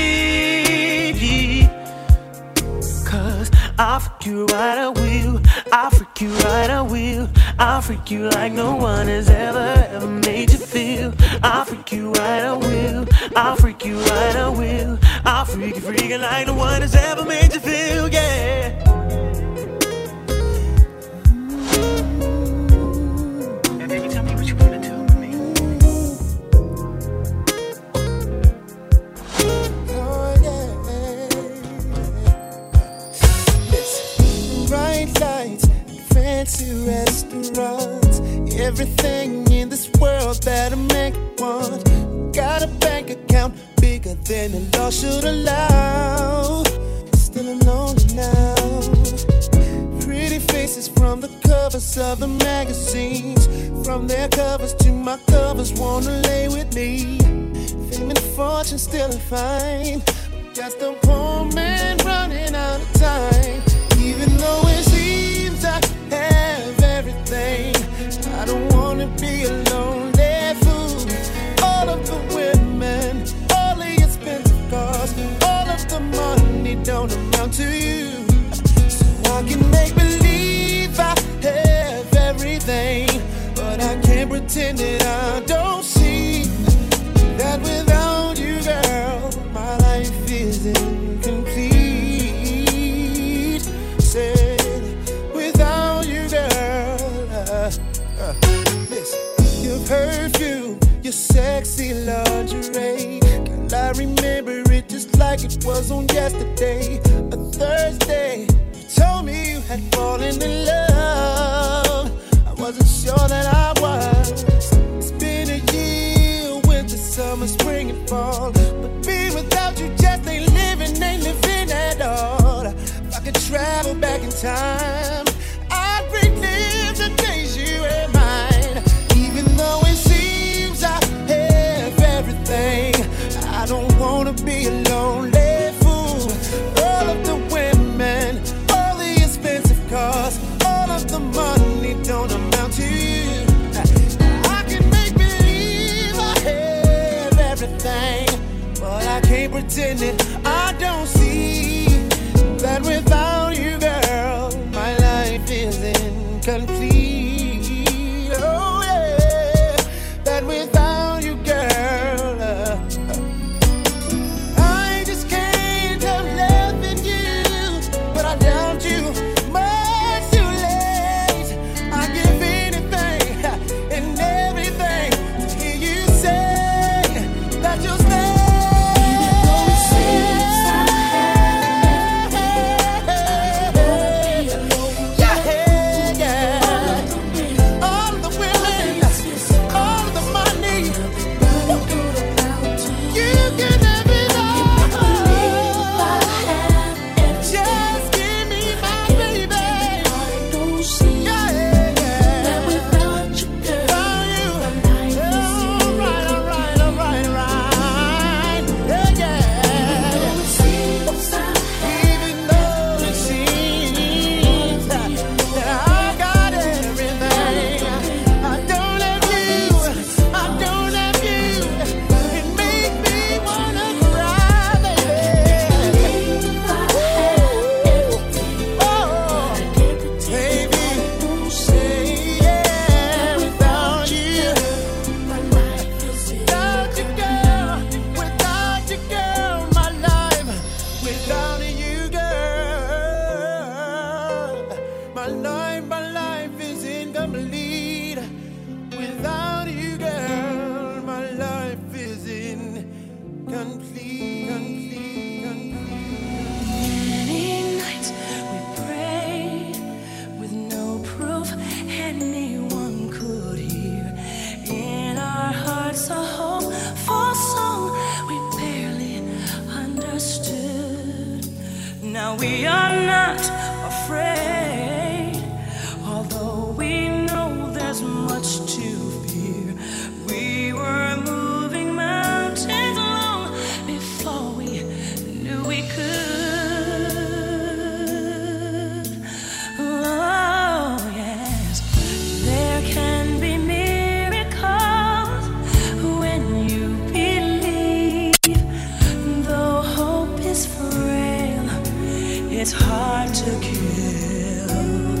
free? Cause I'll freak you right, I will. I'll freak you right, I will. I'll freak you like no one has ever made you feel. I'll freak you right, I will. I'll freak you right, I will. I'll freak you freaking like no one has ever made you feel, yeah. Now baby, tell me what you wanna do with me. Oh, yeah. Listen. Bright lights, fancy restaurants, everything in this world that a man could want. Got a bank account bigger than the law should allow. Still I'm lonely now. Pretty faces from the covers of the magazines, from their covers to my covers, wanna lay with me. Fame and fortune still a find. Just a poor man running out of time. Even though it seems I have everything, I don't wanna be a lonely fool. All of the women, all the expensive cars, all of the money don't amount to you. So I can make believe I have everything, but I can't pretend that I don't see that without you, girl, my life is incomplete. Said, without you, girl, listen, your perfume, your sexy lingerie, girl, I remember it just like it was on yesterday. A Thursday, you told me you had fallen in love. I wasn't sure that I was. It's been a year, winter, summer, spring, and fall, but being without you just ain't living at all. If I could travel back in time, I'd relive the days you were mine. Even though it seems I have everything, I don't wanna be a lonely fool. All of the women, all the expensive cars, all of the money don't amount to you. I can make believe I have everything, but I can't pretend it. I don't see that without you, girl, my life is incomplete. Oh yeah, that without you, girl, I just can't help loving you, but I doubt you much too late. I give anything and everything to hear you say that you'll stay. Even though it seems Many nights we prayed with no proof anyone could hear. In our hearts, a hopeful song we barely understood. Now we are not afraid, although we know there's much to fear. We were moving mountains long before we knew we could. Oh, yes, there can be miracles when you believe. Though hope is frail, it's hard to kill.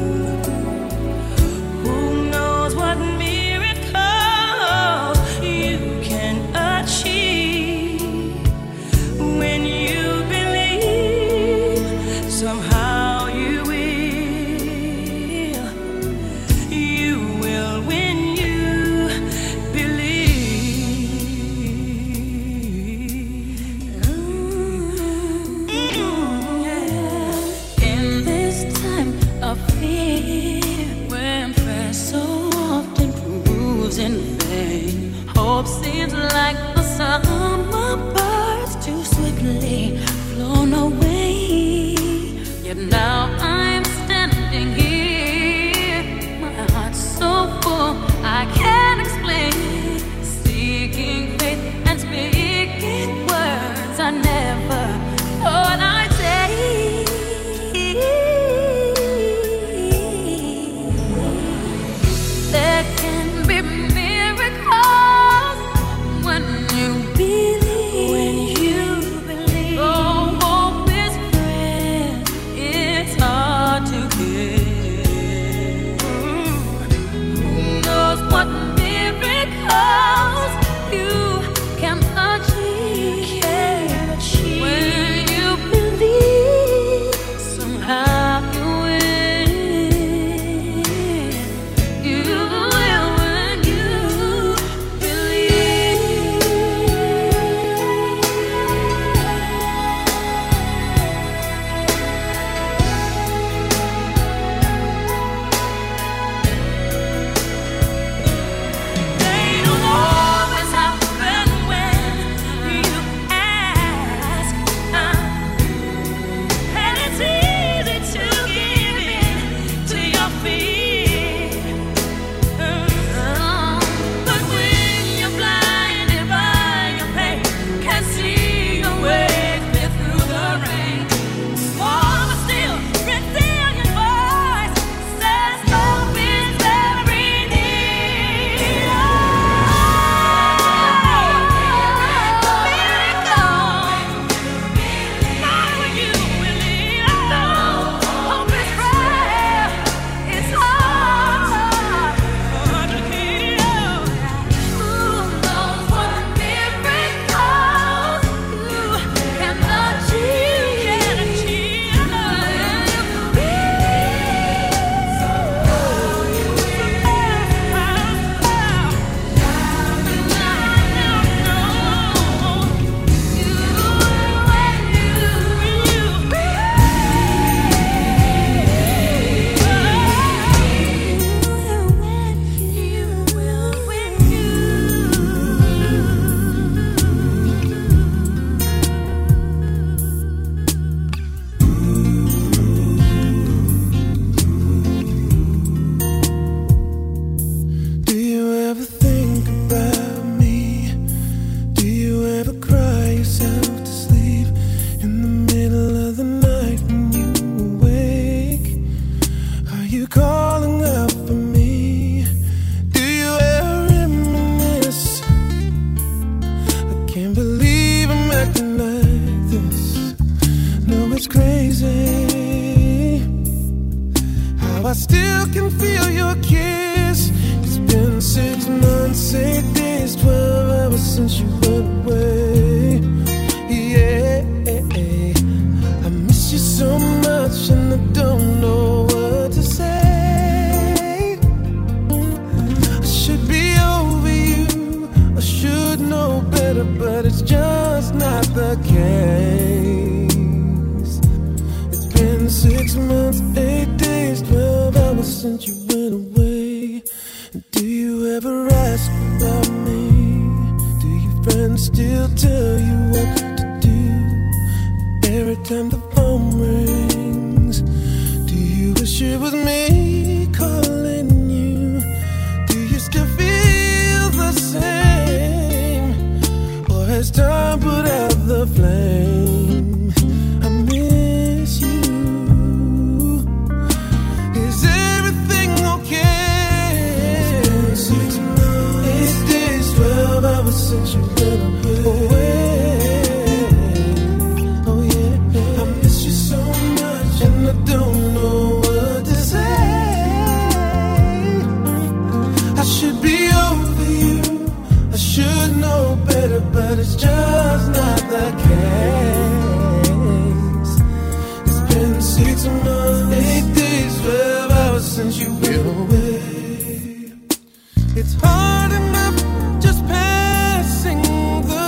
Who knows what miracle you can achieve when you believe? Somehow you will when you believe. In this time of fear, when prayer so often proves in vain, hope seems like the summer birds too swiftly flown away. Yet now I'm standing here, my heart's so full I can't explain, seeking faith and speaking words I never thought I'd say. There can be miracles when you believe. When you believe. Oh, hope is frail, it's hard to get. Who knows what miracles you can achieve? When you believe, somehow you will. You will when you believe. They don't always happen when you ask, and it's easy to give in to your fear. But when you're blinded by your pain, can't see your way clear through the rain, small but still resilient voice says hope is very near. Not when you believe. Hope is frail, it's hard to kill. Who knows what miracles you can achieve? Do you ever think about me? Do you ever cry yourself to sleep in the middle of the night when you awake? Are you calling out for me? Do you ever reminisce? I can't believe I'm acting like this. No, it's crazy how I still can feel your kiss. It's been 6 months, 8 days, 12 hours since you went away. Yeah, I miss you so much and I don't know what to say. I should be over you, I should know better, but it's just not the case. It's been 6 months, 8 days, 12 hours since you went away. Do you ever ask about me? Do your friends still tell you what to do? Every time the phone rings, do you wish it was me calling you? Do you still feel the same? Or has time put out the flame? I miss you. Is everything okay? It's been 6 months, 8 days, 12 hours since you went away. Oh yeah, I miss you so much, and I don't know what to say. I should be over you, I should know better, but it's just not the case. It's been 6 months, 8 days, 12 hours since you went away. It's hard enough just passing the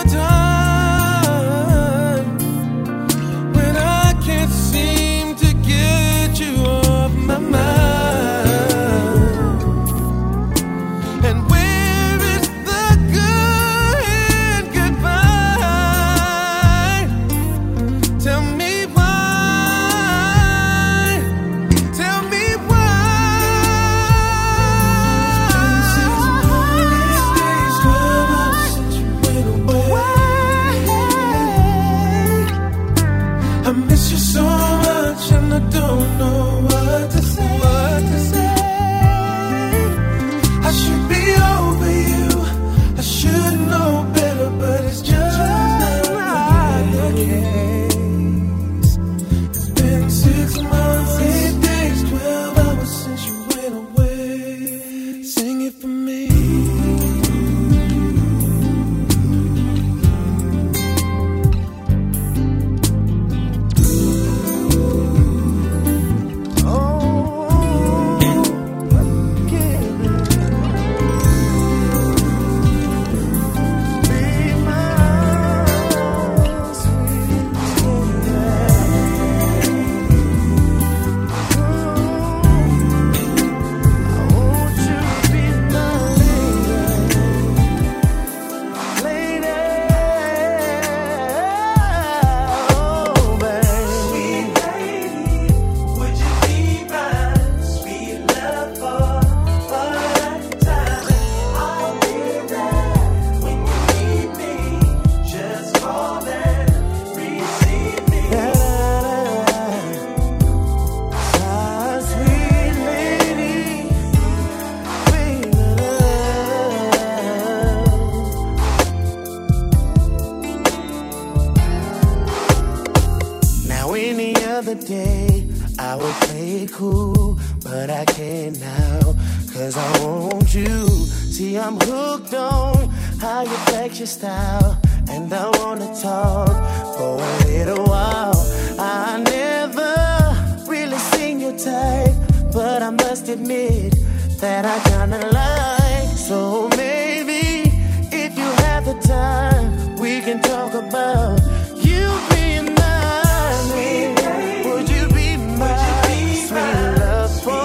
time when I can't seem to get you off my mind. And where is the good goodbye? Tell me why. Tell me why. It's been 6 months, 8 days, 12 hours since you went away. I miss you so much, and I don't know what to say. I should be over you, I should know better, but it's just not the case. It's been 6 months, 8 days, 12 hours since you went away. Sing it for me. Now any other day I would play it cool, but I can't now, 'cause I want you. See, I'm hooked on how you flex your style, and I wanna talk for a little while. I never really seen your type, but I must admit that I kinda like. So maybe if you have the time, we can talk about you being mine. Would you be my sweet love for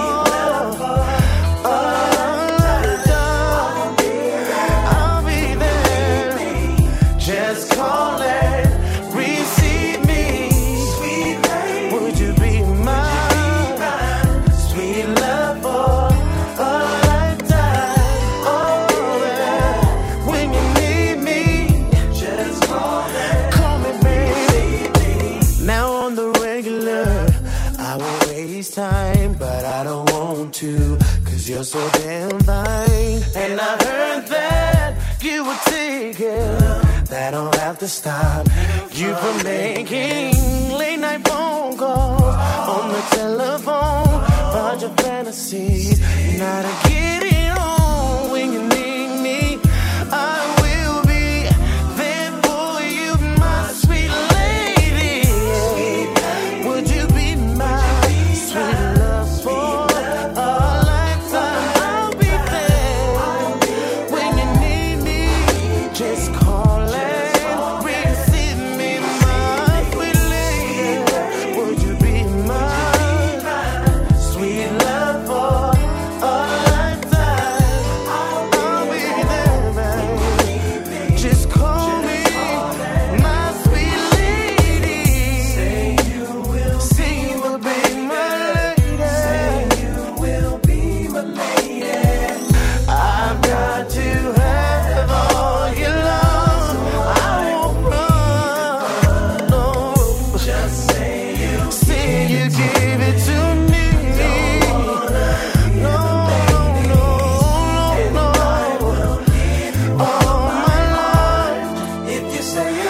I'll be there. Just call and receive me. Would you be my sweet love for a lifetime? Oh, yeah. When you need me, just call me, baby. Now on the regular, I won't waste time, but I don't want to, 'cause you're so damn fine. And I heard that you were taken. That don't have to stop you from making late night phone calls on the telephone about your fantasies. Now to get it on when you need me, I will be there for you, my sweet lady. Would you be my sweet love for a lifetime? I'll be there when you need me. Just call and receive me,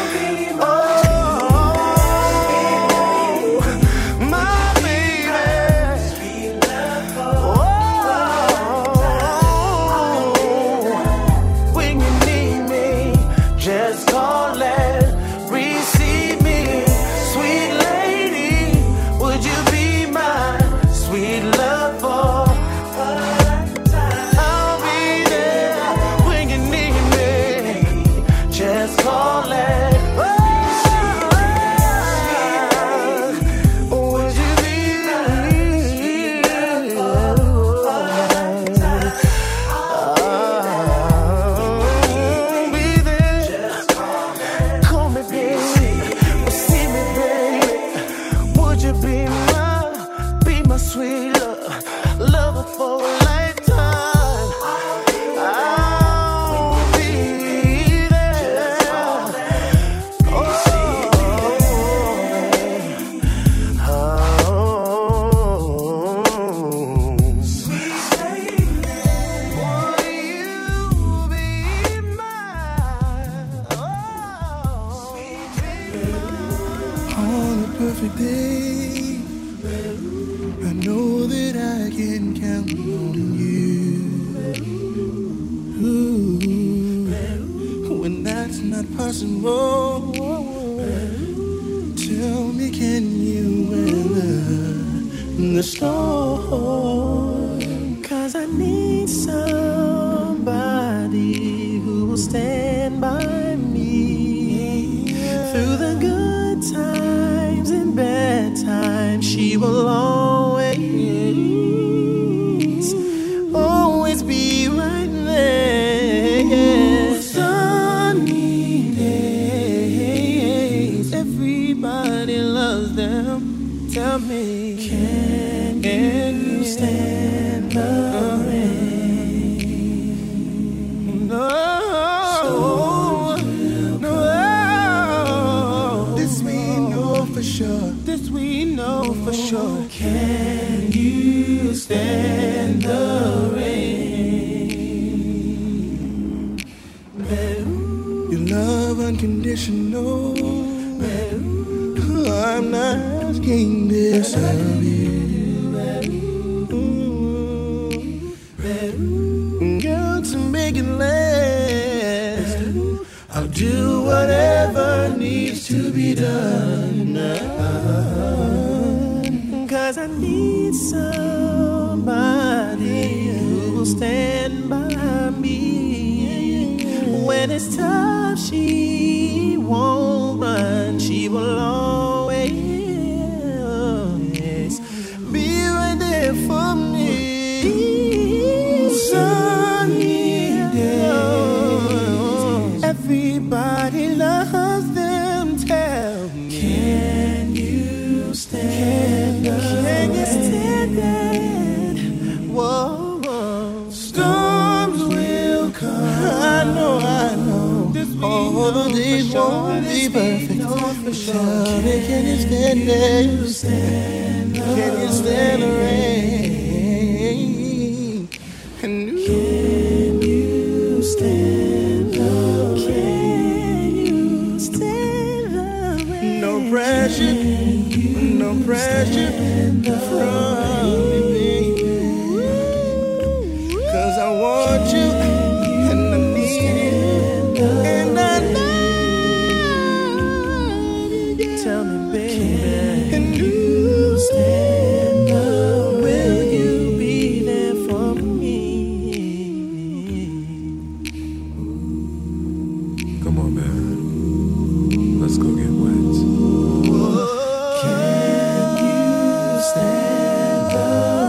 Can you stand the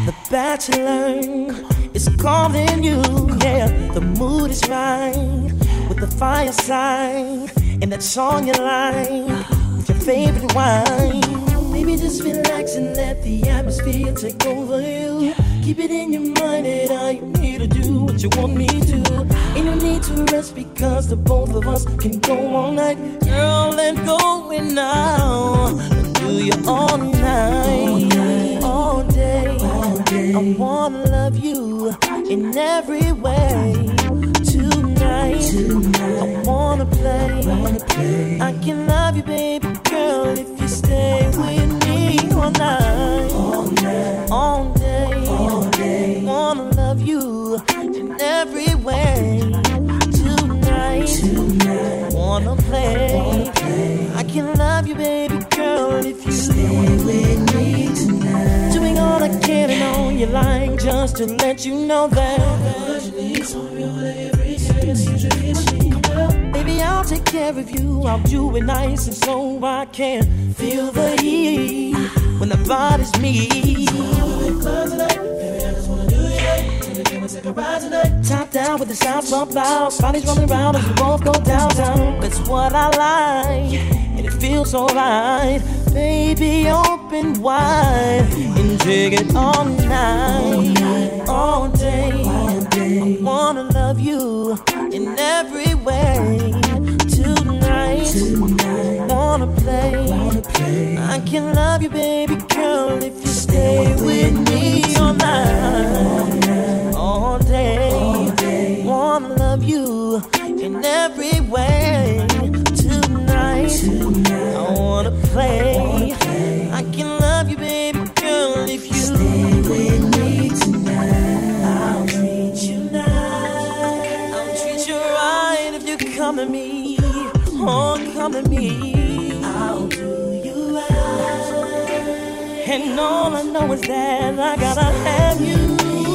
The Bachelor is calling you, yeah. The mood is right with the fireside and that song you like with your favorite wine. Maybe just relax and let the atmosphere take over you. Keep it in your mind that I am here to do what you want me to. Ain't no need to rest because the both of us can go all night. Girl, let go and now do you all night, all day. I wanna love you in every way. Tonight, I wanna play. I can love you, baby girl, if you stay with me all night, all day. Wanna love you in every way. Tonight, wanna play. I can love you, baby girl, if you stay with me tonight. Doing all I can and on your line just to let you know that. Baby, I'll take care of you. I'll do it nice and slow. I can feel the heat when the body's me. Top down with the sound bump loud. Bodies rolling around as we both go downtown. That's what I like, and it feels alright. Baby, open wide and take it all night, all day. I wanna love you in every way. Tonight, wanna play. I can love you, baby girl, if you stay with me all night, all day. Wanna love you in every way. Tonight, I wanna play. I can love you, baby girl, if you stay with me tonight. I'll treat you nice. I'll treat you right if you come to me. Oh, come to me. I'll do you right. And all I know is that I gotta have you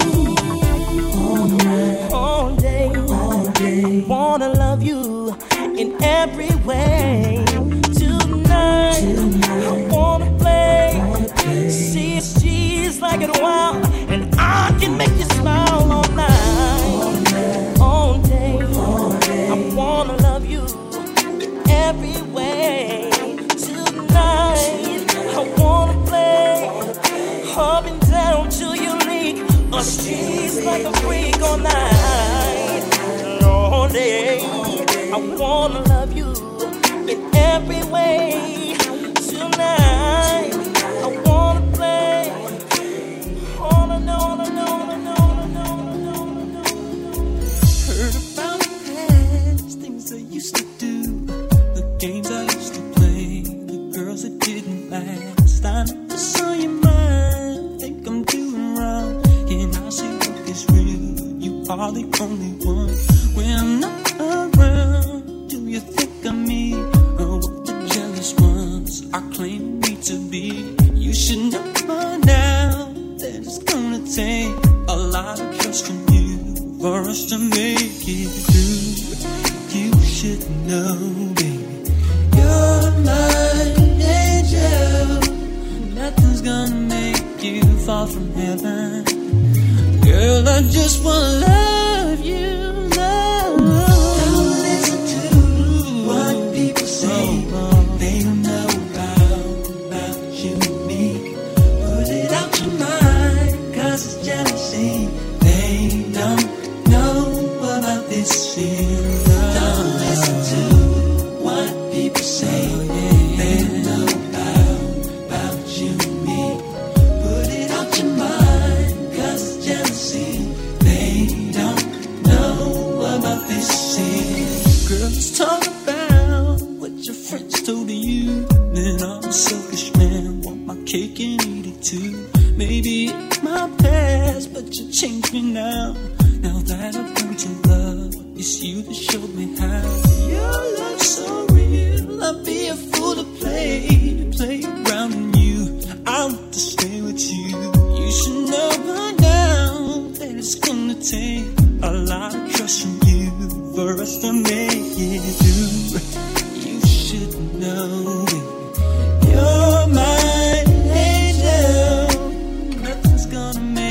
all day. I wanna love you in every way. Tonight, I wanna play. See, she's like it wild, and I can make you smile all night, all day. I wanna love you every way. Tonight, I wanna play up and down till you leak. Oh, she's like a freak all night, all day. I wanna love you in every way. Tonight, I wanna play. All I know, all I know, all I know, all I know, all I know, all I know. Heard about the past, things I used to do, the games I used to play, the girls that didn't last. I never saw your mind, think I'm doing wrong. Can I say what is real? You are the only one. When I'm not around, do you think of me? Or what the jealous ones are claiming me to be? You should know by now that it's gonna take a lot of trust from you for us to make it through. You should know, baby, you're my angel. Nothing's gonna make you fall from heaven. Girl, I just wanna love you, love. Don't listen to what people say. They don't know about you and me. Put it out your mind, 'cause it's jealousy. They don't know about this feeling. Don't listen to what people say. They don't know about you and me. Put it out your mind, 'cause it's jealousy. They don't know about this feeling. Girl, let's talk about what your friends told you. Then I'm a selfish man, want my cake and eat it too. Maybe it's my past, but you changed me now. Now that I've learned to love, it's you that showed me how. Your love's so real, I'd be a fool to play around in you. I want to stay with you. You should know by now that it's gonna take a lot of trust from you for us to make it through. You should know, baby, you're my angel. Nothing's gonna make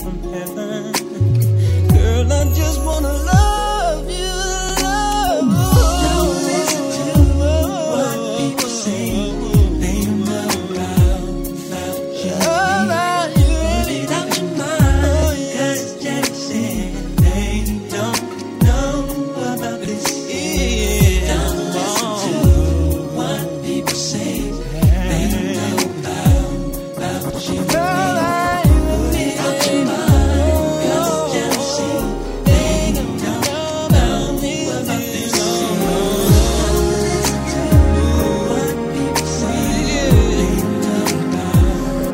from heaven. Girl, I just wanna love you, love you. Don't listen to what people say. They don't know about you. About you. Put it out your mind, 'cause it's jealousy. They don't know about this. Don't listen to what people say. They don't know about you. Put it out your mind, 'cause it's jealousy. They don't know about this. Don't listen to what people say. They don't know about.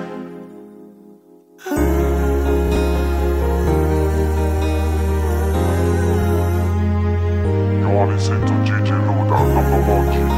You are listening to DJ Luda, #1 DJ.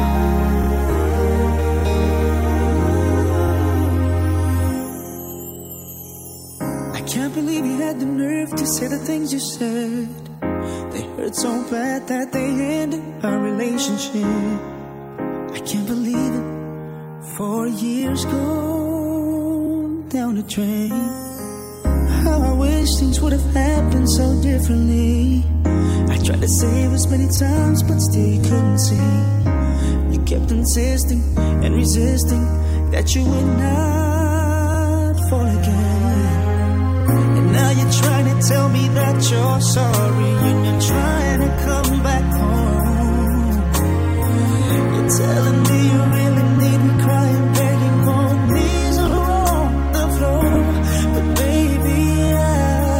I can't believe you had the nerve to say the things you said. They hurt so bad that they ended our relationship. I can't believe it. 4 years gone down the drain. How I wish things would have happened so differently. I tried to save as many times, but still you couldn't see. You kept insisting and resisting that you would not fall again. And now you're trying to tell me that you're sorry, and you're trying to come back home. You're telling me you really need me, crying, begging for knees on the floor. But baby, I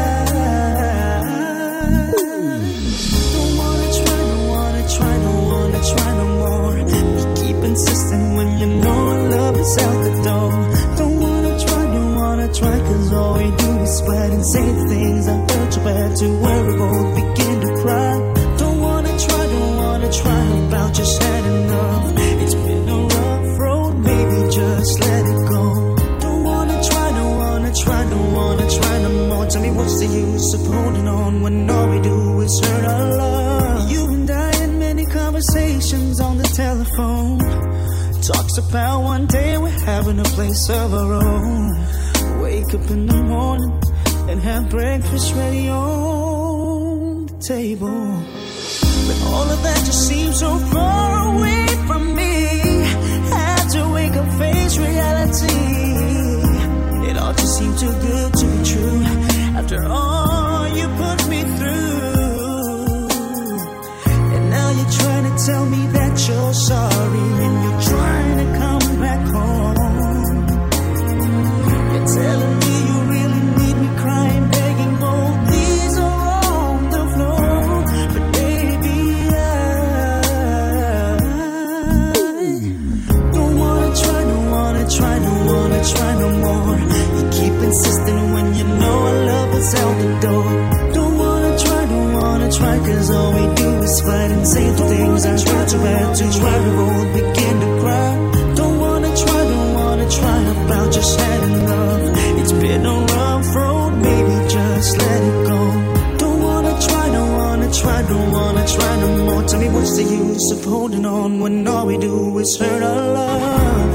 don't wanna try, don't wanna try, don't wanna try no more. You keep insisting when you know love is out the door. Don't wanna try, 'cause all we do is fight and say things I hurt you bad to where we both begin to cry. Don't wanna try about just had enough. It's been a rough road, baby, just let it go. Don't wanna try, don't wanna try no more. Tell me what's the use of holding on when all we do is hurt our love. You and I had many conversations on the telephone. Talks about one day we're having a place of our own. Wake up in the morning and have breakfast ready on the table. But all of that just seems so far away from me. Had to wake up, face reality. It all just seemed too good to be true. After all you put me through. And now you're trying to tell me that you're sorry, and you're trying to come back home. You're telling me you really need me, crying, begging, both these are on the floor. But baby, I don't wanna try, don't wanna try, don't wanna try no more. You keep insisting when you know our love is out the door. Don't wanna try, 'cause all we do is fight and say the things I hurt you bad to why we both begin to cry. Don't wanna try about just had enough. It's been a rough road, baby, just let it go. Don't wanna try no more. Tell me what's the use of holding on when all we do is hurt our love.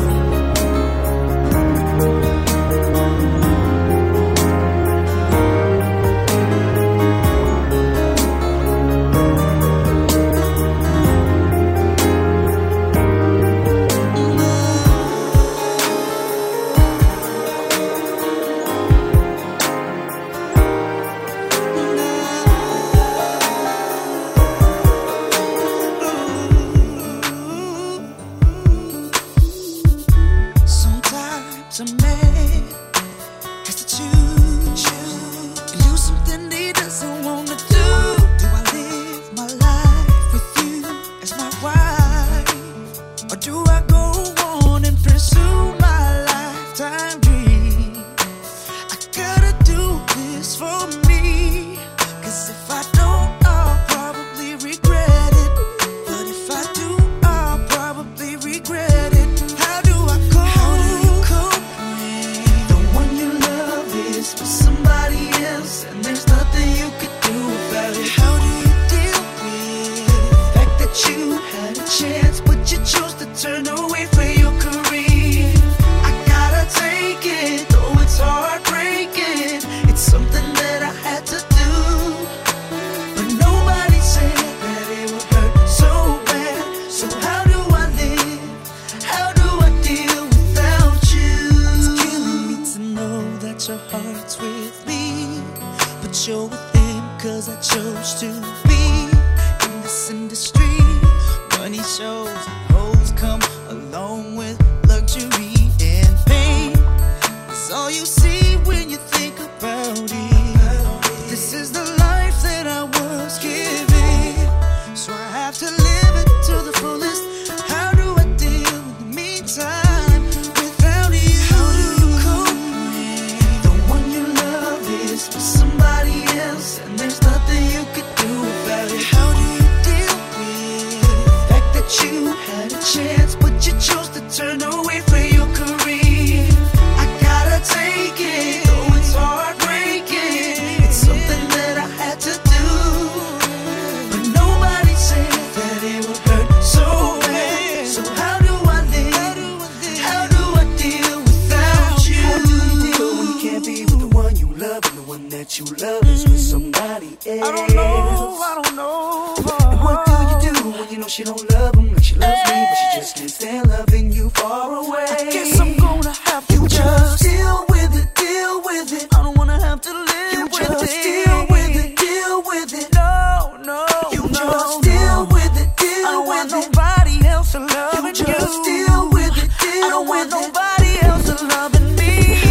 that your heart's with me, but you're with him 'cause I chose to be in this industry. Money shows and hoes come along with luxury and pain. It's all you see when you think about it. But this is the life that I was given, so I have to live it to the fullest. How do I deal in the meantime without you? How do you cope when the one you love is with somebody else and there's nothing you could do about it? How do you deal with the fact that you had a chance but you chose to turn away from your career? I gotta take it, though it's heartbreaking. It's something that I had to do, but nobody said that it would hurt so bad. So how do I live? How do I deal without you? How do you deal when you can't be with the one you love and the one that you love is with somebody else? I don't know. And what do you do when you know she don't love him like she loves me, but she just can't stand loving you far away? I guess I'm gonna have to just deal with it. I don't wanna have to live with it. Deal with it. No. You just deal with it. I don't want nobody else to love you. Just deal with it. I don't want nobody else to loving me.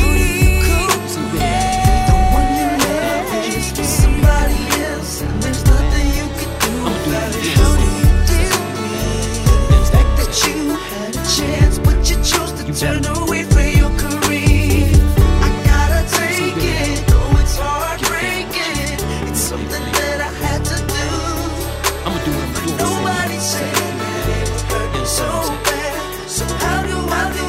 The one you love is with somebody else, and there's nothing you can do about it. How do you deal with the fact that you had a chance, but you chose to turn away from your career? I gotta take it, though it's heartbreaking. It's something that I had to do. I'ma do it. Nobody said that it would hurt so bad. So how do I do?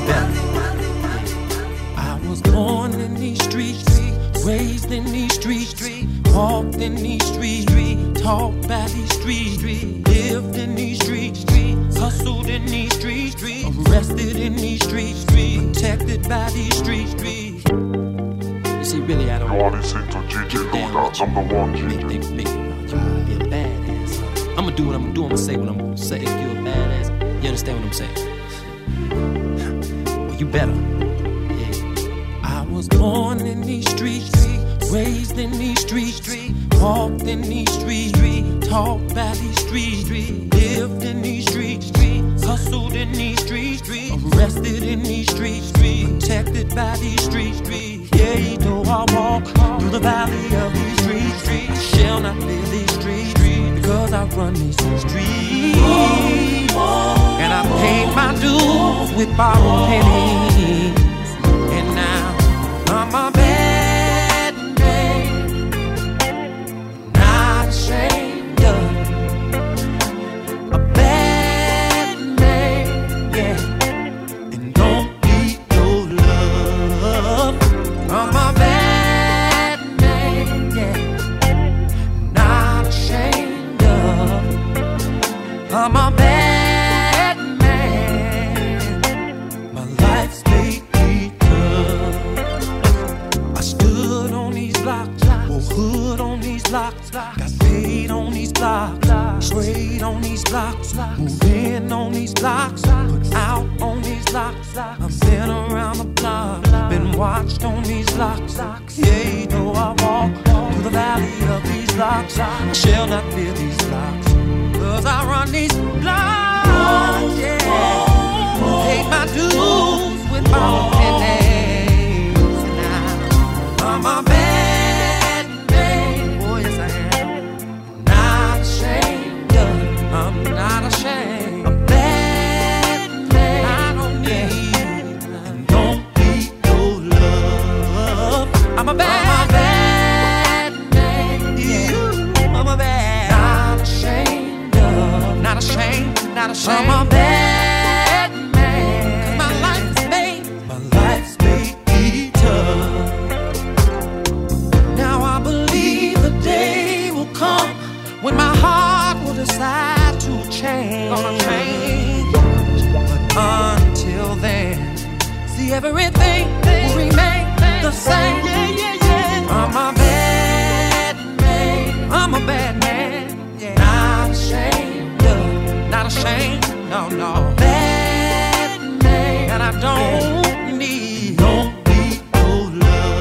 I was born in these streets, raised in these streets, walked in these streets, taught by these streets, lived in these streets, hustled in these streets, arrested in these streets, protected by these streets. You see, really, I don't You are listening to DJ Luda, #1 DJ. make you be a badass. I'ma do what I'm gonna do. I'ma say what I'm gonna say. If you're a badass, you understand what I'm saying? Well, you better. Yeah. I was born in these streets, raised in these streets, walked in these streets, taught by these streets, lived in these streets, hustled in these streets, arrested in these streets, protected by these streets. Yeah, though I walk through the valley of these streets, shall not fear these streets, because I run these streets. And I paid my dues with borrowed pennies, and now I'm a bad man, not ashamed of a bad man, yeah. And don't need no love. I'm a bad man, yeah, not ashamed of. I'm a bad man. My life's made me tough. I stood on these blocks, wore hood on these blocks, got paid on these blocks, trade on these blocks, moved in on these blocks, put out on these blocks. I've been around the block, been watched on these blocks. Yeah, though I walk through the valley of these blocks, I shall not fear these blocks, 'cause I run these blocks, yeah. Take my dues with my pennies, and now I'm a bad man. Oh, yes, I am. Not ashamed of, I'm not ashamed. A bad man. I don't need, don't need no love. I'm a bad man. Yeah. I'm a bad. Not ashamed of, not ashamed, not ashamed. I'm a bad man. 'Cause my life's made me tough. Now I believe the day will come when my heart will decide to change. Gonna change. But until then, see, everything will remain the same. I'm a bad man. I'm a bad man. Yeah. Not ashamed of, not ashamed. No. Bad man. And I don't need no love.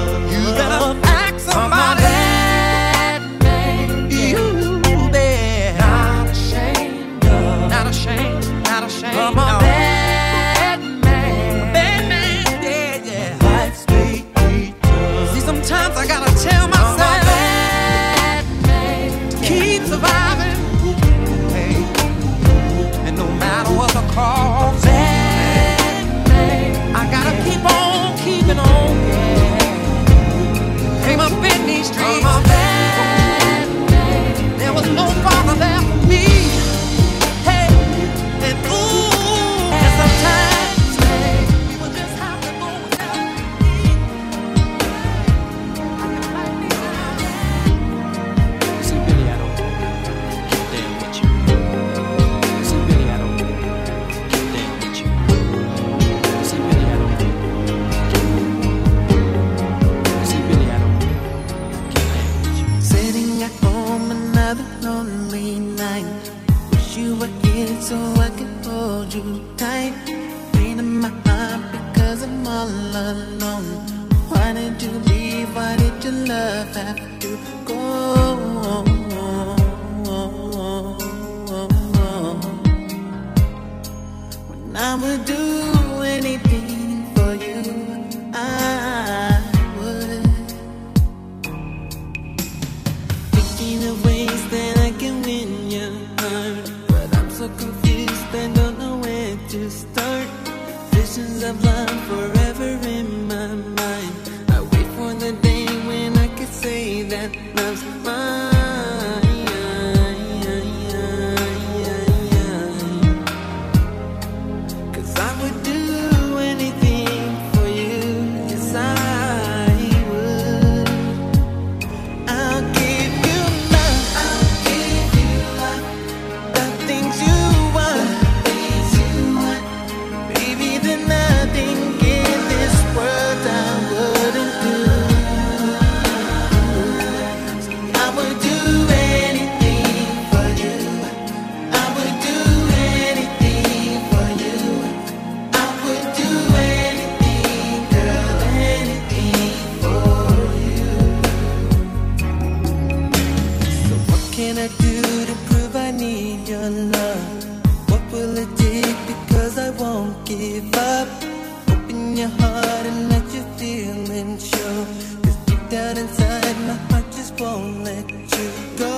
love have to go? When I would do anything for you, I would. Thinking of ways that I can win your heart, but I'm so confused and don't know where to start. Visions of love forever in my mind. I wait for the day when I could say that love's mine. 'Cause I would do anything for you. Yes, I would. I'll give you love. I'll give you love. The things you want. Baby, there's nothing in this world I wouldn't do. I would do anything for you. I would do anything for you. I would do anything, girl, anything for you. So what can I do to prove I need your love? What will it take? Because I won't give up. Open your heart and let your feelings show. 'Cause deep down inside my heart just won't let you go.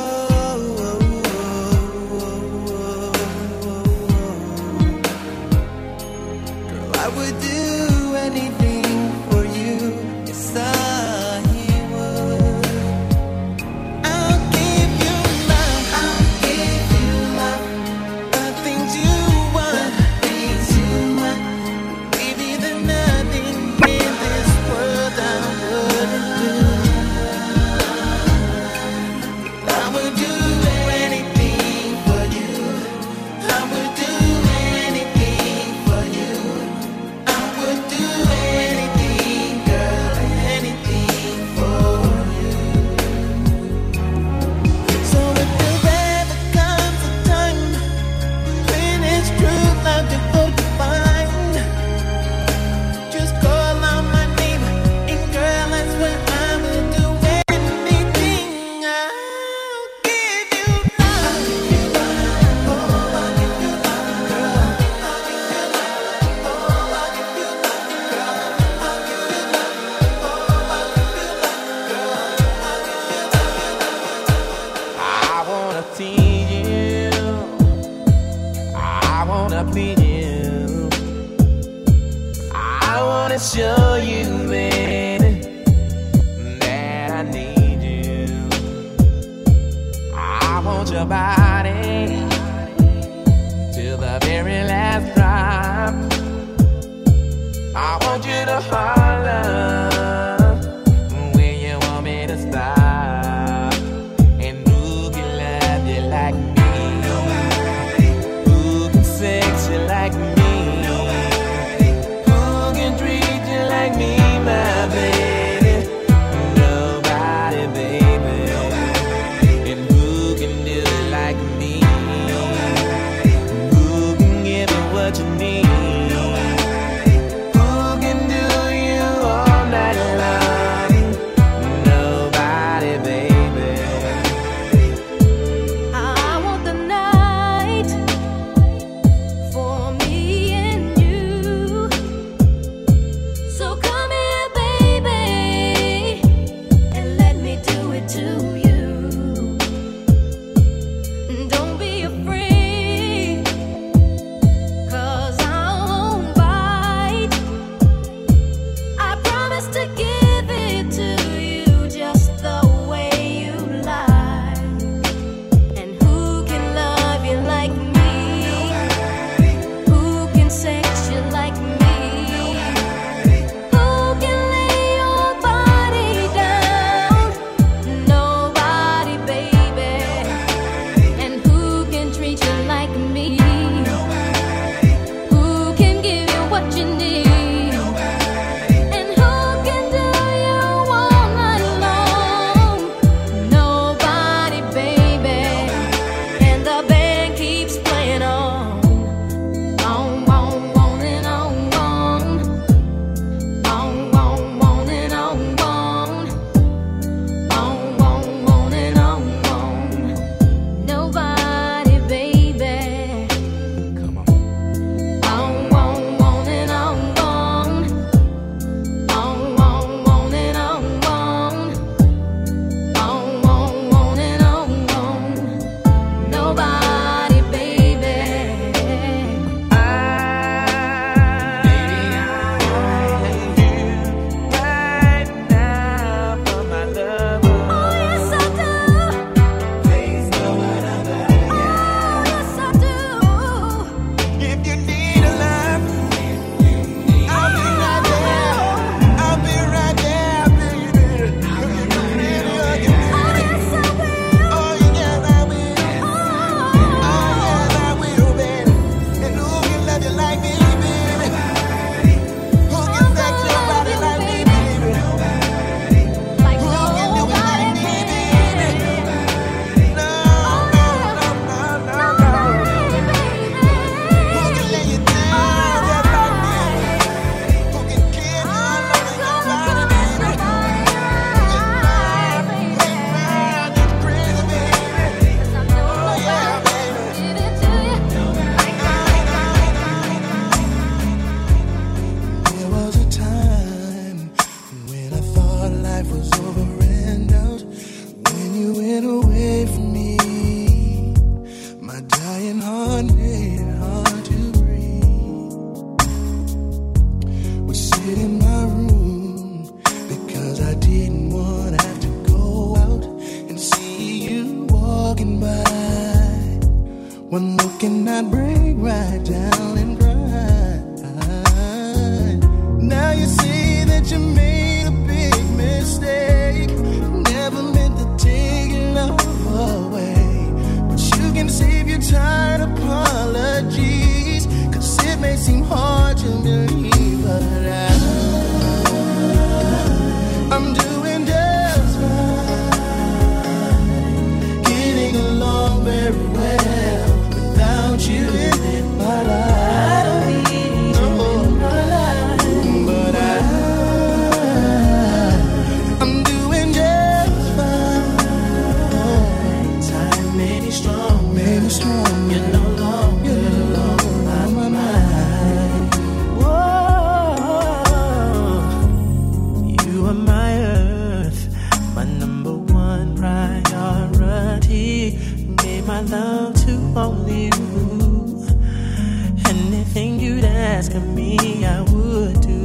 Girl, I would do anything for you. Yes, I would. I'll give you love. I'll give you love. The things you want. Baby, there's nothing in this world I wouldn't do. I would do anything for you. I would do anything for you. I would do anything, girl, anything for you. So if there ever comes a time when it's true love difficult to find, just call on my name, and girl, that's when I will do anything. I'll give you love. Oh, I'll give you love, girl. I'll give you love. Oh, I'll give you love, girl. I'll give you love. Oh, I'll give you love, girl. I'll give you love. I wanna tease you. I wanna please you. I wanna show you, baby, that I need you. I want your body till the very last drop. I want you to holler when you want me to stop. And who can love you like me? Who can sex you like me? Who can treat you like me, my baby? Nobody, baby. And who can do it like life was over and out when you went away from me. My dying heart made it hard to breathe. Would sit in my room because I didn't want to have to go out and see you walking by. One look and I'd break right down and cry. Now you see that you made a big mistake. Never meant to take your love away, but you can save your tired apologies, 'cause it may seem hard to believe, but I'm doing just fine, getting along very well without you in my life. I don't need you in my life, but I'm doing just fine. Time made me strong, You're no longer on my mind. Whoa, you are my earth, my number one priority. Gave my love to only you. Anything you'd ask of me, I would do.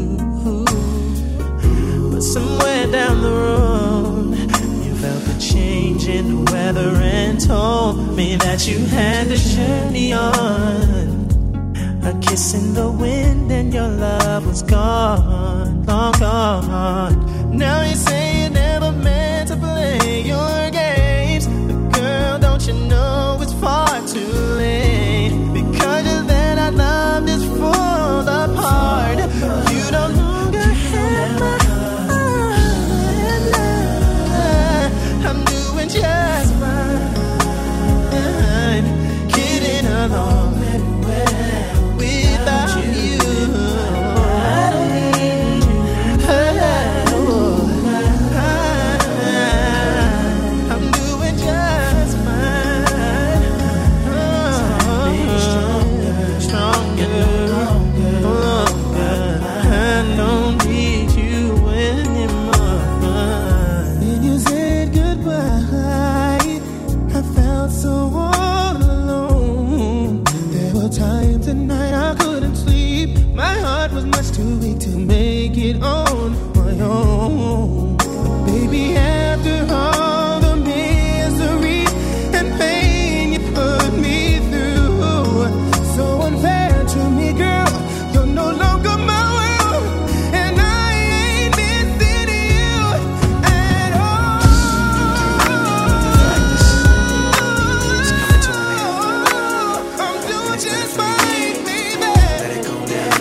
But somewhere down the road, you felt the change in the weather and told me that you had to journey on. A kiss in the wind and your love was gone, long gone. Now you say you never meant to play your games, but girl, don't you know it's far too late? Because then our love is full apart. You don't longer have my heart. I'm doing just fine, getting along very well without you. I don't need you. I'm doing just fine. Stronger. I don't need you anymore. When you said goodbye, I felt so all alone. There were times at night I couldn't sleep. My heart was much too weak to make it on my own. Baby, after all the misery and pain you put me through, so unfair to me, girl. You're no longer my world, and I ain't missing you at all. I'm doing just fine, baby. Let it go down.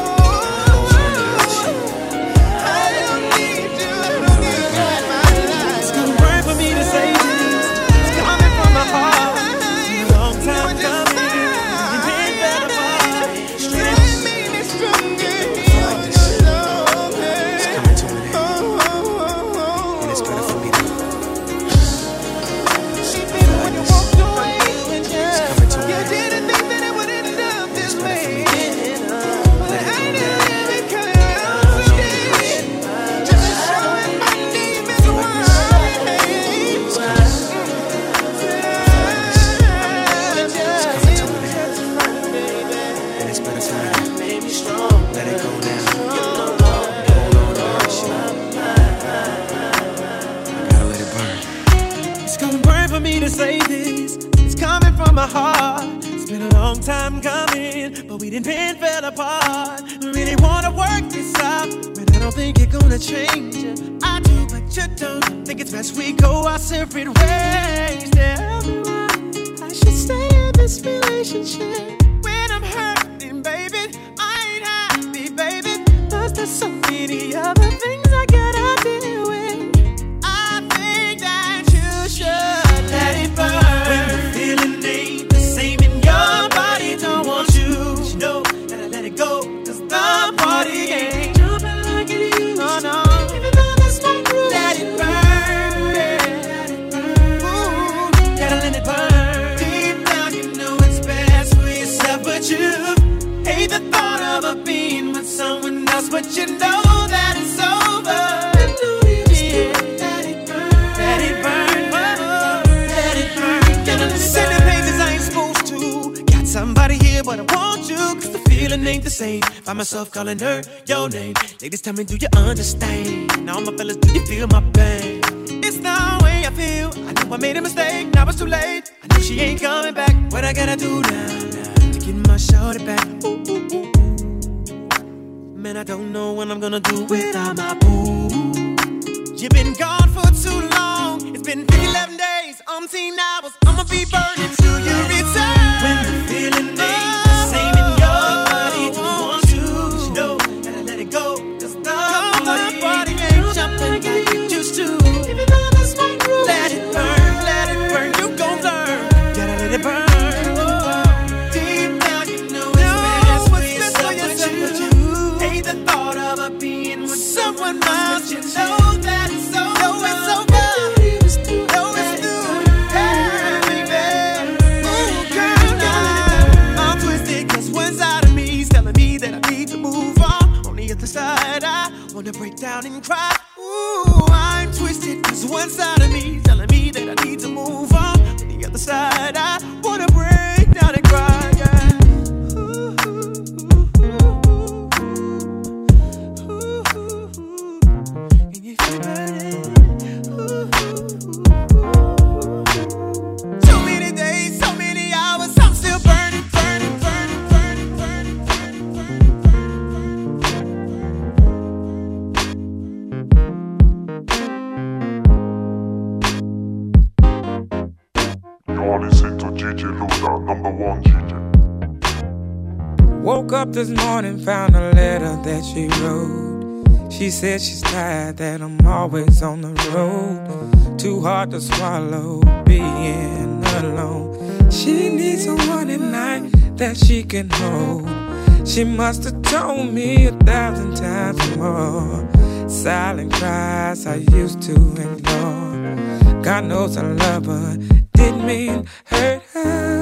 I don't need you. I don't need you in my life. It's gonna burn for me to say this. It's coming from my heart. Long time coming. You've been better for me. Strength made me stronger. It's coming to an end, and it's better for me to She made it when you walked away. It's coming to an You end. didn't think that it would end up this way. But I didn't live it 'cause just showing my name is why. and it's better for me to let it go down. Hold on to hurt you. I gotta let it burn. It's gonna burn for me to say this. It's coming from my heart. It's been a long time coming, but we didn't fell apart. Really wanna work this out, but I don't think you're gonna change it. I do, but you don't. Think it's best we go our separate ways. Tell me why I should stay in this relationship when I'm hurting, baby. I ain't happy, baby. There's so many other things I gotta deal with. I think that you should let it burn. When the feeling ain't the same in your body, don't want you to know that I let it go. 'Cause the party ain't jumping like it used to. No. Even though that's not true, let it burn. Let it burn. Ooh, gotta let it burn. Deep down, you know it's best for you. feeling ain't the same. Find myself calling her your name. Ladies, tell me, do you understand? Now my fellas, do you feel my pain? It's the way I feel. I know I made a mistake, now it's too late. I know she ain't coming back. What I gotta do now to get my shorty back? Ooh, ooh, ooh. Man, I don't know what I'm gonna do without my boo. You've been gone for too long. It's been 11 days, 10 hours. I'ma be burning till you return. When the feeling ain't the same in your body, you want to, you know, gotta let it go. Cause the party ain't jumping like you used to. Even though that's my groove, let it burn, you gon' learn. Gotta let it burn. Deep down, you know it's best for yourself. Hate the thought of being with someone else. You know that it's over. Side, I wanna break down and cry. Ooh, I'm twisted, cause one side of me telling me that I need to move on. On the other side, I wanna break down and cry, yeah. Ooh, can you feel it? So many days, so many hours, I'm still burning, burning, burning, burning, burning, burning, burning. You're listening to Gigi Luda, number one Gigi. Woke up this morning, found a letter that she wrote. She said she's tired, that I'm always on the road. Too hard to swallow, being alone. She needs someone at night that she can hold. She must have told me 1,000 times more. Silent cries I used to ignore. God knows I love her, didn't mean hurt her.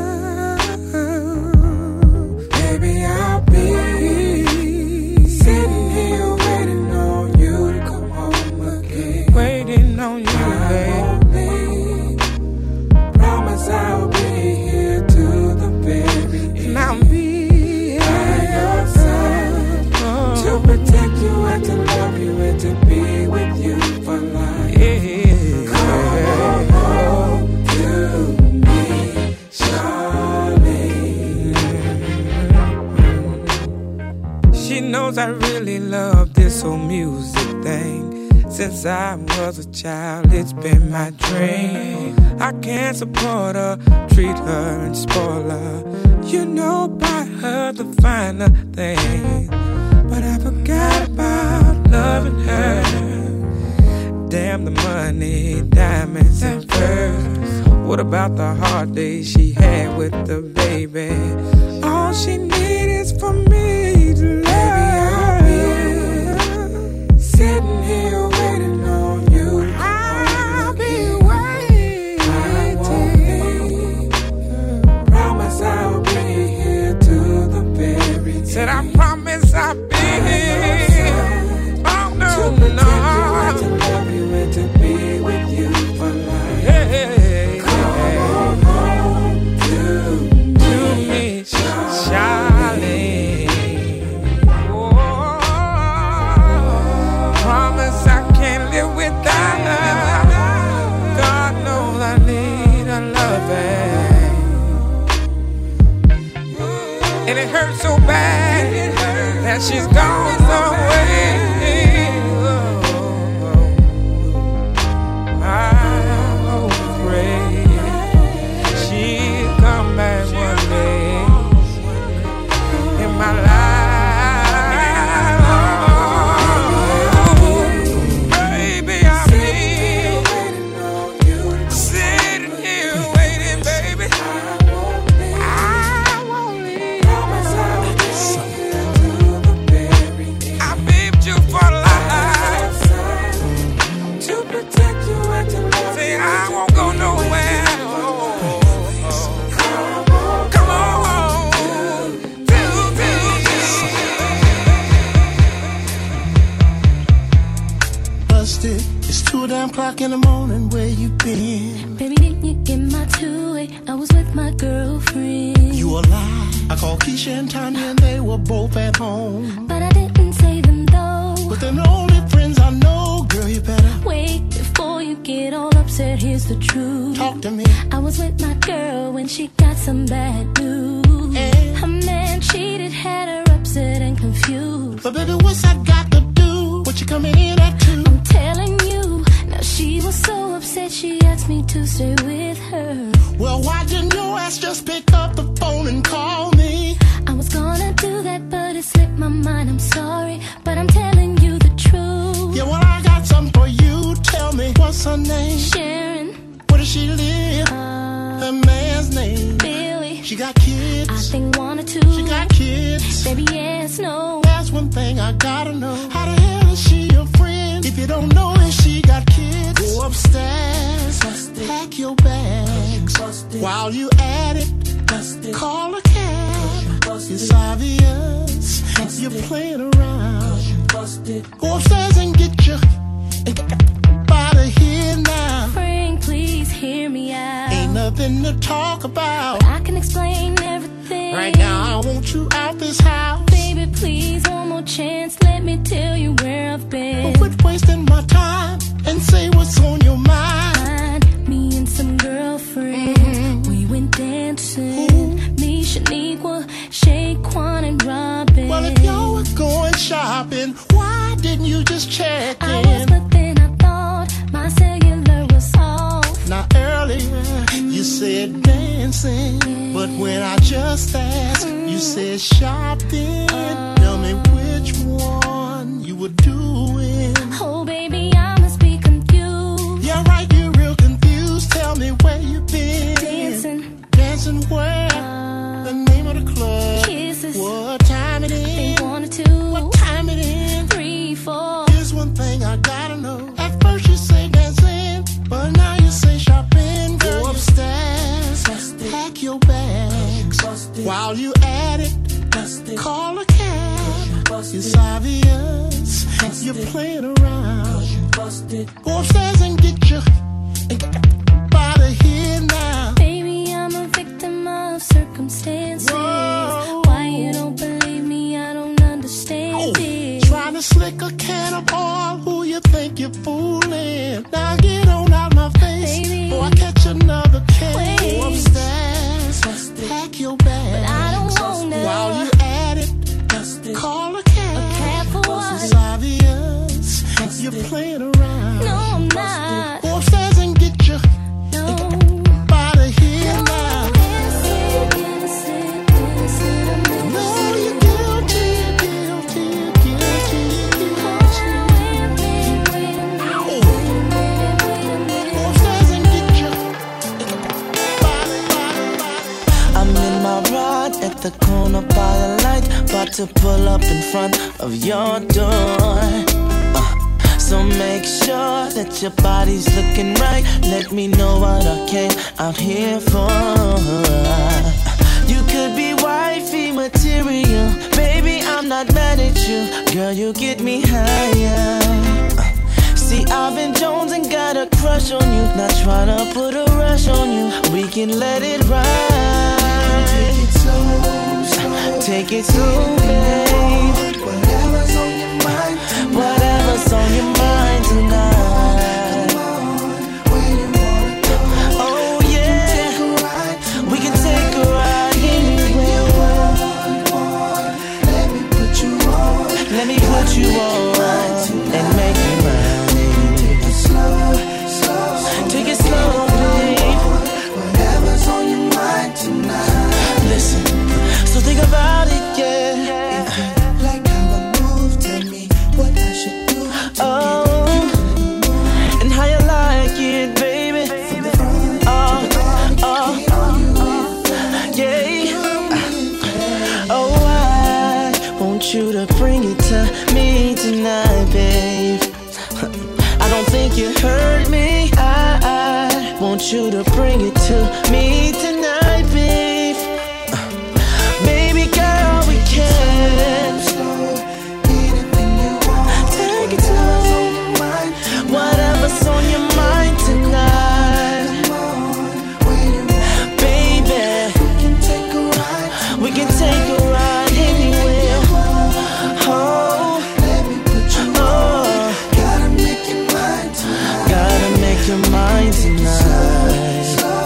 Baby, I'll be sitting here waiting on you to come home again. Waiting on you, baby. Promise I'll be here to the very end. And I'll be by your side to protect you and to love you and to be with you for life. Yeah. She knows I really love this whole music thing. Since I was a child, it's been my dream. I can't support her, treat her and spoil her. You know, buy her the finer things. But I forgot about loving her. Damn the money, diamonds and furs. What about the hard days she had with the baby? All she needs is for me to love. Baby, I'll be sitting here waiting on you. I'll be waiting. I won't be. Promise I'll be here to the very end. Said I promise I'll be here. Oh no, no. To love you and to be with you for life. Hey, come home to me, Charlie. Oh, promise I can't live without her. God knows I need a loving. And it hurts so bad that she's gone away. 2 damn o'clock in the morning, where you been? Baby, didn't you get my two-way? I was with my girlfriend. You a lie. I called Keisha and Tanya and they were both at home. But I didn't say them though. But they're the only friends I know, girl, you better wait before you get all upset. Here's the truth. Talk to me. I was with my girl when she got some bad news. And her man cheated, had her upset and confused. But baby, what's I got to do? What you coming in at 2? I'm telling you. Now she was so upset she asked me to stay with her. Well, why didn't your ass just pick up the phone and call me? I was gonna do that, but it slipped my mind. I'm sorry, but I'm telling you the truth. Yeah, well, I got something for you. Tell me, what's her name? Sharon. Where does she live? Her man's name? Billy. She got kids? I think 1 or 2. She got kids? Baby, yes, no. That's one thing I gotta know. How the hell is she your friend? If you don't know if she got kids, go upstairs, pack your bags. While you at it, call a cab. It's obvious you're playing around. Go upstairs and get your out of here now. Frank, please hear me out. Ain't nothing to talk about, but I can explain everything. Right now I want you out this house. Baby, please, one more chance. Let me tell you where I've been. But quit wasting my time and say what's on your mind. Me and some girlfriends, we went dancing. Me, Shaniqua, Shaquan, and Robin. Well, if y'all were going shopping, why didn't you just check in? I was, but then I thought my cellular was off. Now earlier you said dancing, but when I just asked, you said shopping. Tell me which one you were doing. Oh, baby, I must be confused. Yeah, right, you're real confused. Tell me where you been. Dancing. Dancing where? The name of the club. Kisses. What time it is? 1 or 2. What time it is? 3, 4. Here's one thing I gotta know. At first you say dancing, but now you say shopping. Girl, go upstairs, pack your bags. While you at it, call a cab. It's obvious you're playing around. Go upstairs and get your out of here now. Baby, I'm a victim of circumstances. Whoa. Why you don't believe me, I don't understand it. Trying to slick a can of oil, who you think you're fooling? Now get on out my face, baby, or I catch another case. Wait. Go upstairs, pack your bags. But I don't wanna. While you at it, call a cab. A cab for what? It's obvious you're playing around. No, I'm not. Go upstairs and get your out of here now. Innocent, I'm No, you're guilty. Go upstairs and get your I'm in my ride at the corner by the light, about to pull up in front of your door. So make sure that your body's looking right. Let me know what I came out here for. You could be wifey material, baby, I'm not mad at you. Girl, you get me higher. See, I've been Jones and got a crush on you. Not trying to put a rush on you. We can let it ride. Take it slow. Take it slow, babe. whatever's on your mind. Whatever's on your mind tonight. Come on, where you wanna go? Oh yeah, Take a ride. we can take a ride anywhere. Let me put you on. Let me put you on and make you mine. Take it slow. Take it slow, babe. Whatever's on your mind tonight. Listen, so think about it, yeah. Like how I move, tell me what I should do. Oh, and how you like it, baby. Yeah. Oh, I want you to bring it to me tonight, babe. I don't think you heard me. I want you to bring it to me tonight, babe. Baby girl, we can Anything you want. take it slow. Whatever's your mind tonight.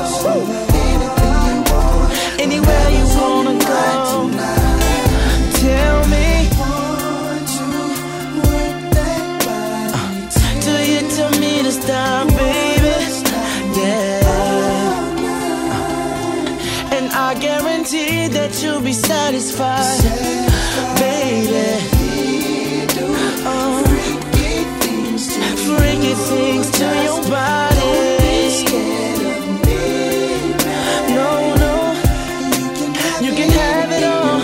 Anywhere you wanna go, tell me. Do you tell me to stop, baby? Yeah. And I guarantee that you'll be satisfied, baby. Freaky things to your body. No, no, you can have it all.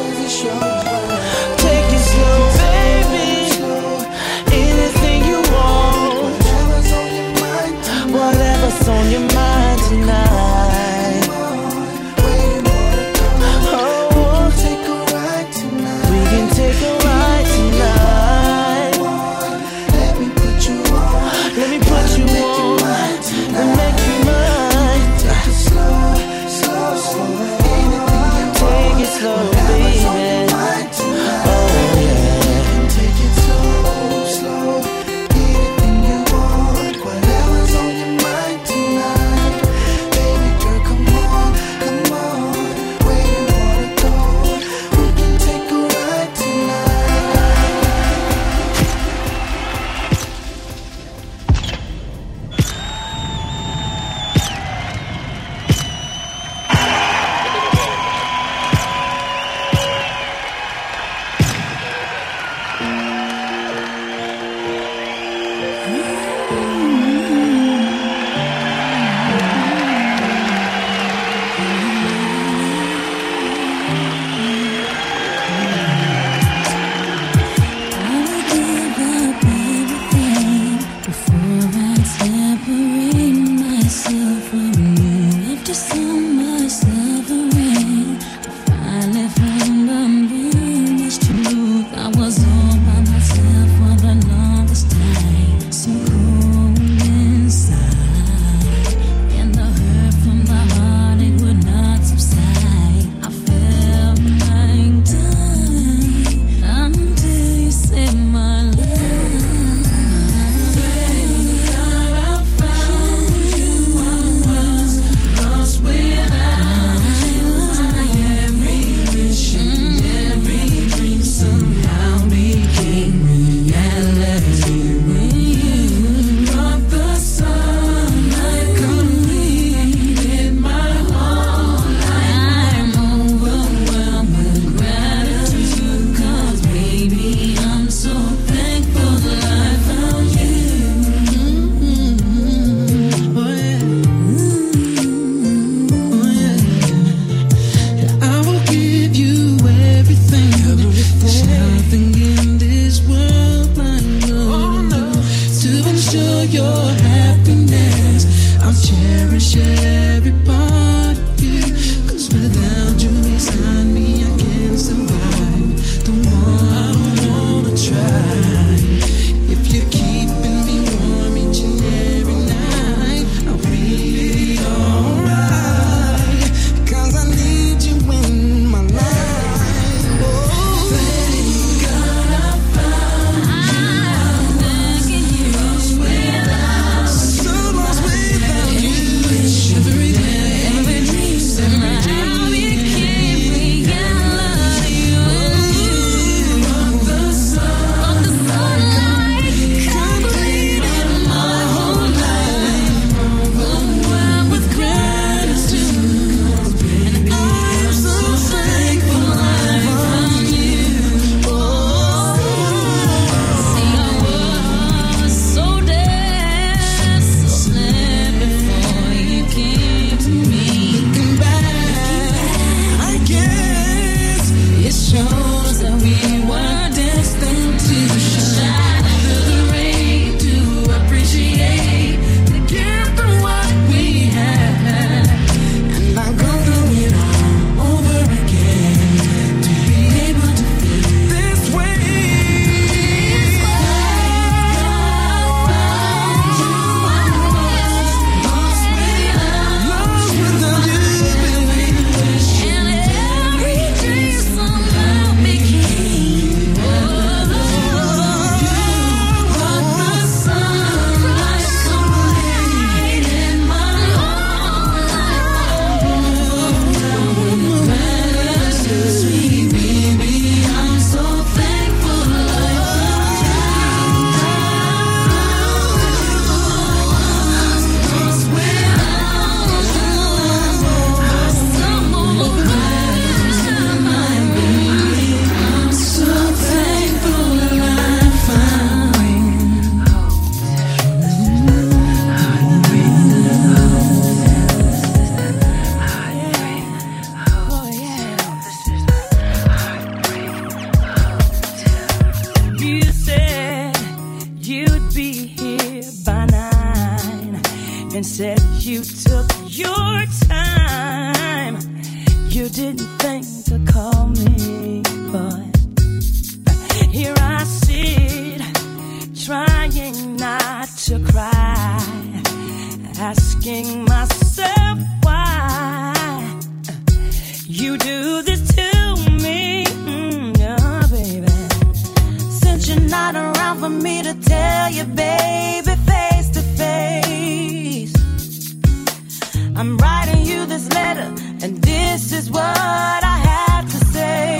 Take it slow, baby. Anything you want, whatever's on your mind tonight. Oh, we can take a ride tonight. Let me put you on and make you mine. Take it slow, take it slow, baby. Oh yeah. Take it slow, anything you want, whatever's on your mind tonight. Baby girl, come on, where you wanna go? We can take a ride tonight. Every dream and said you took your time. You didn't think to call me, but here I sit, trying not to cry, asking myself why you do this to me, oh baby. Since you're not around for me to tell you, baby, face to face, I'm writing you this letter, and this is what I have to say.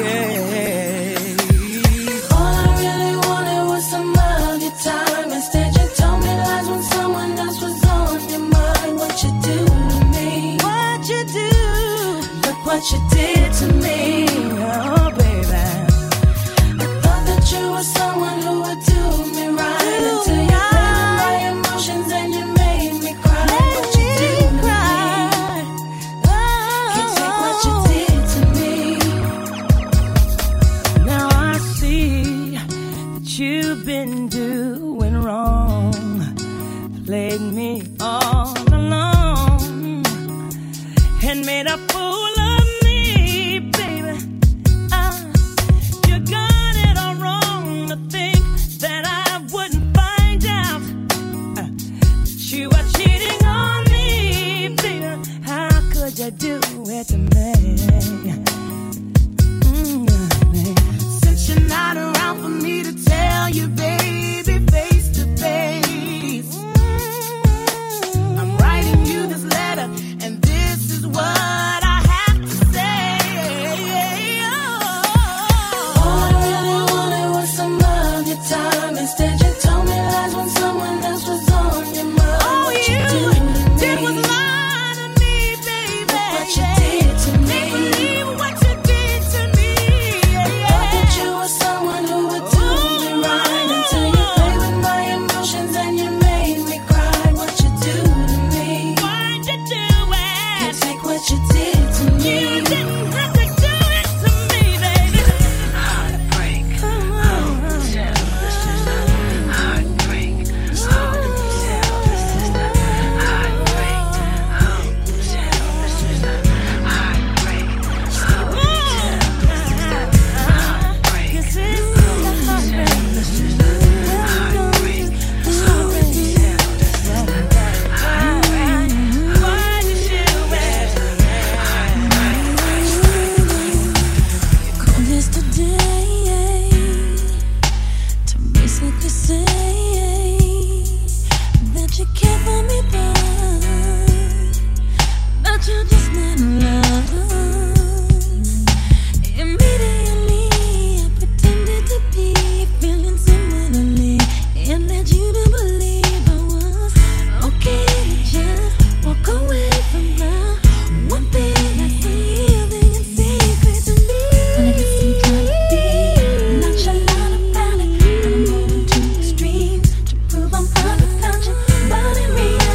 All I really wanted was some of your time. Instead you told me lies when someone else was on your mind. What you do to me? What you do? Look what you did to me, oh baby. I thought that you were someone who would do me right, until you played with my emotions and you made me cry. What you do to me? Can't take what you did to me. Now I see that you've been doing wrong, played me all alone, and made a fool of me, baby. You got it all wrong to think that I wouldn't find out that you were cheating on me, baby. How could you do it to me? Since you're not around for me to tell you, baby, face to face, I'm writing you this letter, and this is what I have to say. All I really wanted was some of your time. Instead you told me lies when someone else was on your mind. All you did was lie to me, baby. Look what you did to me. Can't believe what you did to me. Thought that you were someone who would do me right, until you played with my emotions and you made me cry. What you do to me? Why'd you do it? Can't take what you did to me. You didn't have to do it to me, baby. Heartbreak. Tell the sister. Heartbreak. Tell the sister. Heartbreak. Tell the sister. Heartbreak. This is the heartbreak. Why'd you do it? Called yesterday to basically say that you care for me, but you're just not in love. Immediately I pretended to be feeling similarly and led you to believe I was okay to just walk away from love. One thing that's yielding in secret to me. When I get some trying to be nonchalant about it, and I'm moving to extremes to prove I'm unconscious, but in reality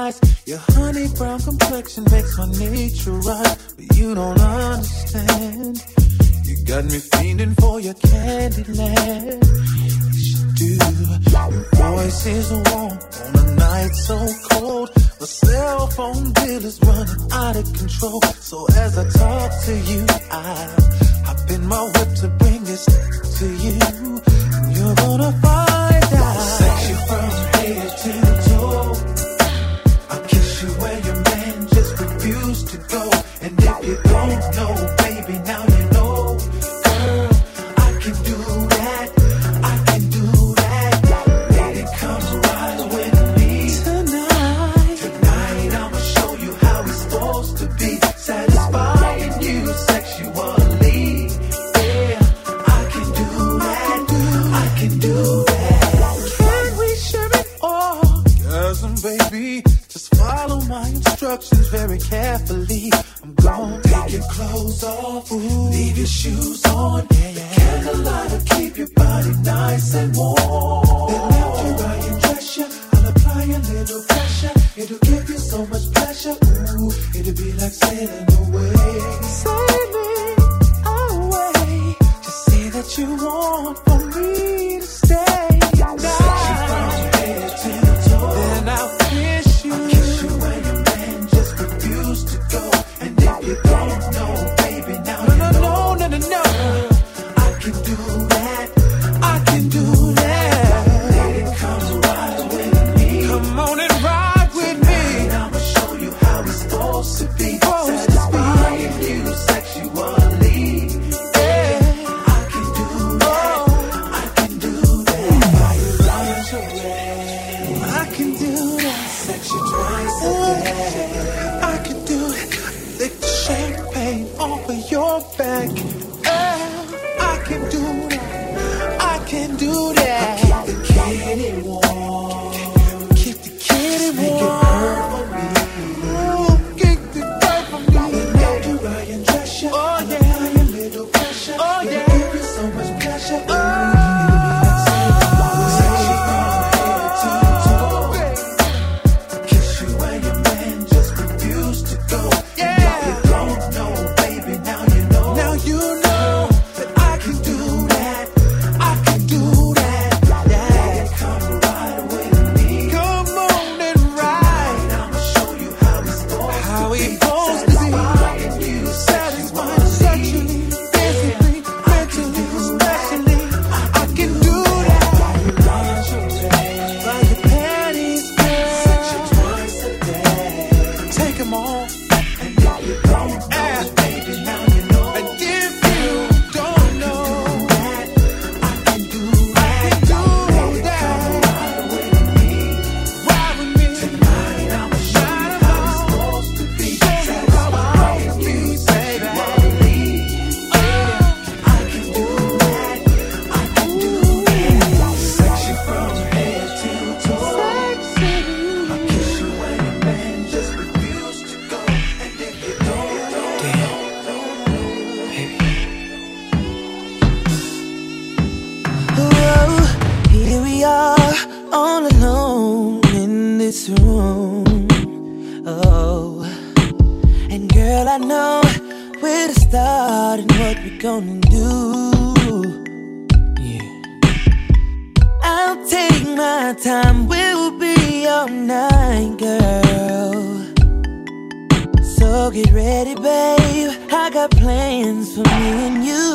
eyes. Your honey brown complexion makes my nature right, but you don't understand. You got me fiending for your candy land. Yes, you do. Your voice is warm on a night so cold. The cell phone bill is running out of control. So as I talk to you, I hop in my whip to bring this to you. And you're gonna find out. Sex you from head to toe. I'll kiss you where your man just refused to go. And if you don't know, baby, now you know. Girl, I can do that. I can do that. Lady, come ride with me tonight. Tonight I'ma show you how it's supposed to be. Satisfying you sexually. Yeah, I can do that. I can do that. Can we share it all? Cousin, baby, just follow my instructions very carefully. I'm gonna take your clothes off, leave your shoes on. The candlelight will keep your body nice and warm. Then after I undress you, I'll apply a little pressure. It'll give you so much pleasure. Ooh, it'll be like sailing away. Sailing away. Just say that you want for me to stay. Sex you from head to toe. Then I'll kiss you. I'll kiss you where your man just refused to go. And if you don't know, baby, now you know. No. I can do that. I can do that. Lady, come ride with me. Come on and ride with me. I'ma show you how it's supposed to be. Satisfying you sexually. Yeah, I can do that. I can do that. Buy you lingerie. I can do that. Sex you twice a day. I can do it. Lick the champagne off of your back. I can do that. I can do that. Keep the kitty warm. Keep the kitty warm. Make it hurt for me. Ooh, keep the hurt for me. And after I undress you, oh yeah, apply a little pressure. Oh yeah, it'll give you so much pleasure. Oh, sex you from head to toe. Kiss you where your man just refused to go. Yeah, and if you don't know, baby, now you know. Now you know that I can do that. I can do that. Yeah, come ride with me. Come on and ride. I'ma show you how it's supposed to be. Satisfying you sexually, physically, mentally, especially. I can do that. Buy your panties, girl. Sex you twice a day. Take 'em off. And if you don't know, baby, now you know. And if you don't know, I can do that. I can do that. Ride with me. Ride with me. Tonight I'ma show you how it's supposed to be. Satisfying you sexually. I can do that. I can do that. Sex you from head to toe. I'll kiss you when your man just refused to go. And if you don't know, Oh, here we are, all alone in this room. Oh, and girl, I know where to start and what we're gonna do. Yeah, I'll take my time, we'll be all night, girl. So get ready, babe. I got plans for me and you.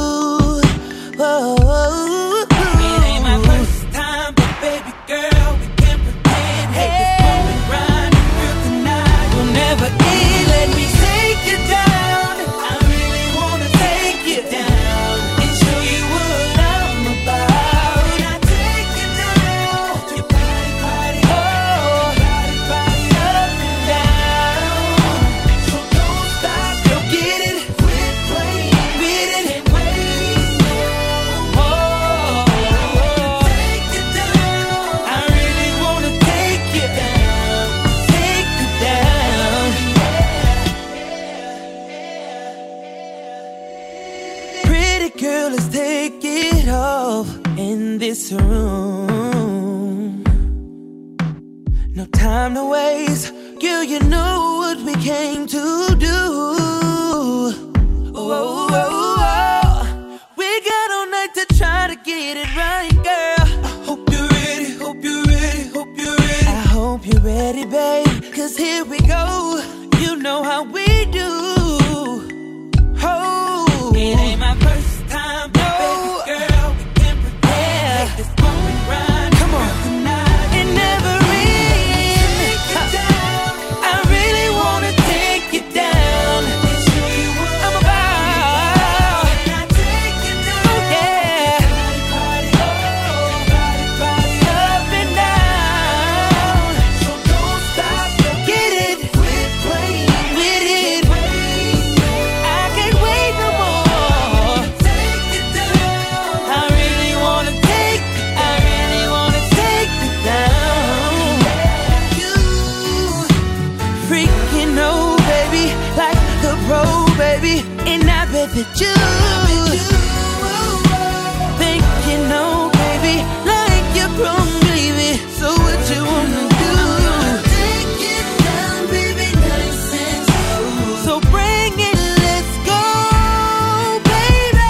Whoa. It ain't my first time, but baby girl, we can't pretend. Hey, this moment right through tonight will never end. Let me take you down. I really wanna take you down and show you what I'm about. I take you down. Your body, oh, body up and down. So don't stop, go get it. Quit playing with it and wait. Take you down. I really wanna take you down. Take you down. Pretty girl, let's take it off in this room. No time time to waste. Girl, you know what we came to do. Whoa, whoa, whoa. We got all night to try to get it right, girl. I hope you're ready, hope you're ready, hope you're ready. I hope you're ready, babe, 'cause here we go. You know how we do. Oh, it ain't my first time, baby girl. We can prepare. Make this moment right. Come on, tonight. It never ends. I really wanna take you down. I'm about. Oh yeah. Up and down. So don't stop. Get it. With it. I can't wait no more. I really wanna take you down. You freaking know, baby, like a pro, baby, and I bet that you think you know, baby, like you're pro, baby. So what you wanna do? Take it down, baby, nice and slow. So bring it, let's go, baby.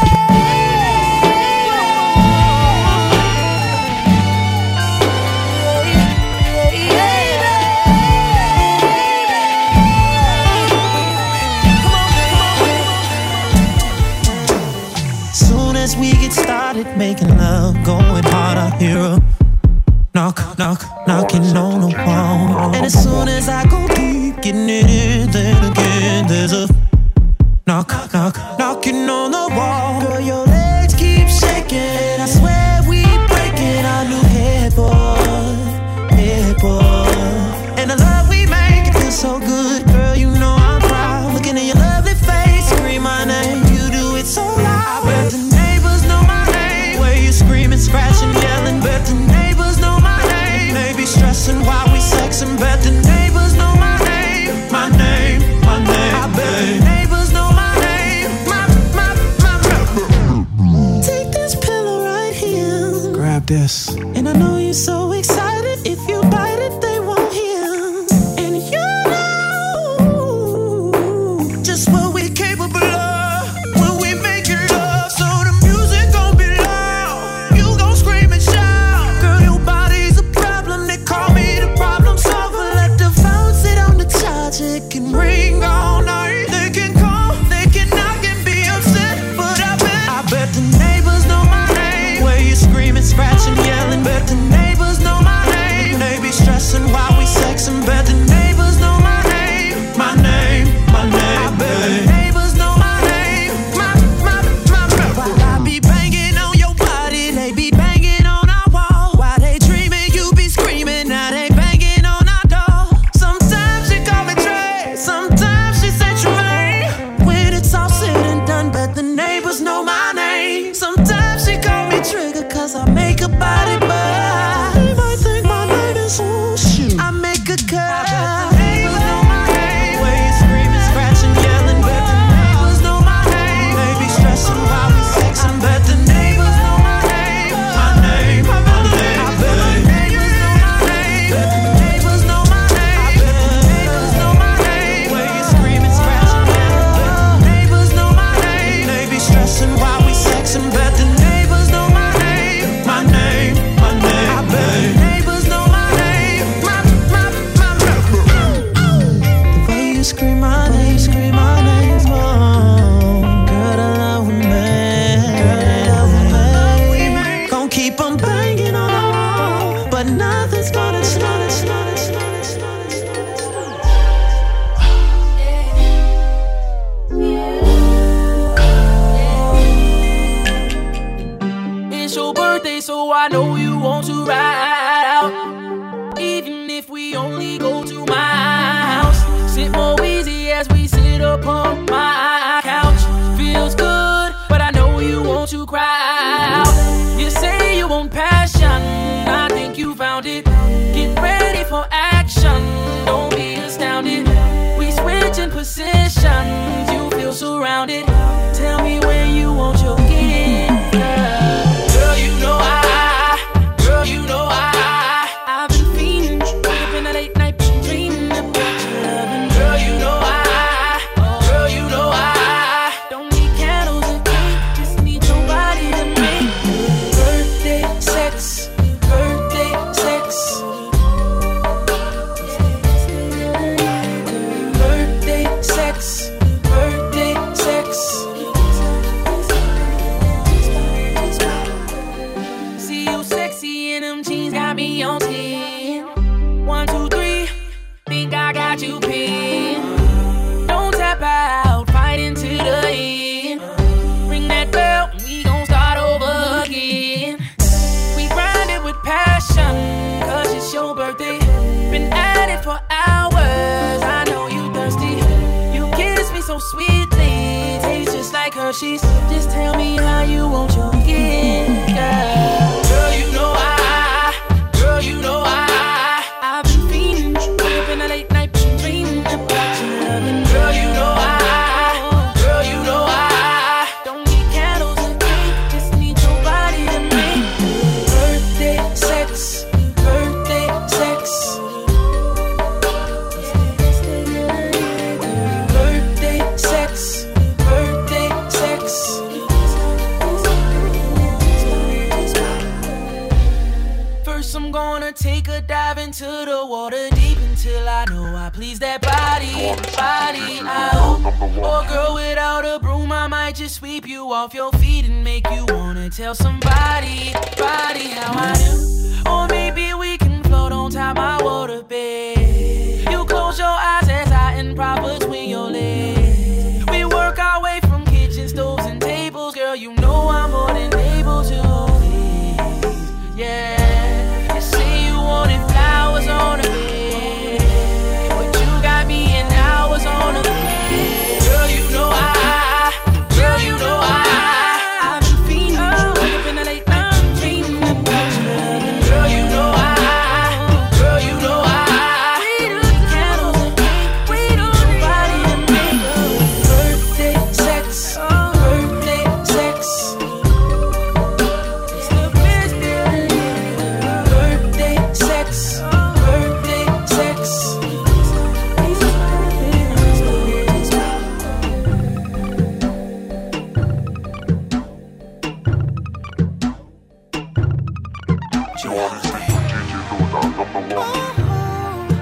Soon as we get started making love, going hard, I hear a knock, knock, knocking on the wall. And as soon as I go deep, getting it in, then again there's a knock, knock, knocking on the wall. Girl, your legs keep shaking. I swear we breaking our new headboard. And the love we make, it feels so good. Girl, you know I'm proud. Looking at your lovely face, scream my name. You do it so loud. I bet the neighbors know my name. Where you screaming, scratching, yelling. Bet the neighbors know my name. Maybe stressing while we sexing. Bet the neighbors know my name. My name, my name. I bet the neighbors know my name. My. Take this pillow right here. Grab this. And I know you're so excited. If you bite it, they won't hear. And you know just what we're capable of when we make it love. So the music gon' be loud. You gon' scream and shout. Girl, your body's a problem. They call me the problem solver. Let the phone sit on the charge. It can ring all night. They can call, they can knock and be upset. But I bet the neighbors know my name. Where you screaming, scratching, yelling. Bet the neighbors know my name. They be stressing while we sexing. Bet the neighbors know my name. My name, my name. I bet the neighbors know my name. My. While I be banging on your body, they be banging on our wall. While they dreaming, you be screaming. Now they banging on our door. Sometimes she call me Trey, sometimes she say Tremaine. When it's all said and done, bet the neighbors know my name. Sometimes she call me Trigger, 'cause I make a body buzz. They might think my name is shoot. I make a cut. Neighbors know my name. Where you screaming, scratching, yelling. Bet the neighbors know my name. They be stressing while we sexing. Bet the neighbors know my name. My name, my name. I bet the neighbors know my name. Bet the neighbors know my name. I bet the neighbors know my name. Where you screaming, scratching, yelling. Bet the neighbors know my name. They be stressing while we sexing. Bet the neighbors know my name. My name, my name. I bet the neighbors know my name. My. The way you scream my name, oh, girl, I love me. Gon' keep on banging on the wall, but nothing's gonna stop it. It's your birthday, so I know you want to ride out. Even if we only go to my house. Sit more easy as we sit upon my couch. Feels good, but I know you want to cry out. You say you want passion, I think you found it. Get ready for action, don't be astounded. We switching positions, you feel surrounded. Tell me when you want your gift, girl. Girl, you know I sex, birthday sex. See you sexy in them jeans, got me on 10. 1, 2, 3, think I got you pinned. Don't tap out, fight into the end. Ring that bell, we gon' start over again. We grind it with passion, cause it's your birthday. Been at it for hours, I know you thirsty. You kiss me so sweetly, tastes just like Hershey's. Just tell me how you want your gift, girl. Girl, you know girl, you know I've been fiending, up in the late night, dreaming about your loving. Girl, you know girl, you know don't need candles and cake, just need your body to make birthday sex, birthday sex. Birthday sex, birthday sex. First I'm gonna take a dive into the water deep until I know I please that body. Oh girl, without a broom I might just sweep you off your feet and make you wanna tell somebody how I do. Or maybe we can float on top my water bed. You close your eyes as I improper swing your legs. We work our way from kitchen stoves and tables. Girl, you know I'm more than able to please. Yeah, you say you wanted flowers on the bed, but you got me in hours on the bed. Girl, you know girl, you know I've been fiending, up in the late night, dreaming about your loving. Girl, you know girl, you know we do the candles and cake, we do your body and make birthday sex, birthday sex. It's the best day. Birthday sex, birthday sex. You are listening to DJ Luda, number one.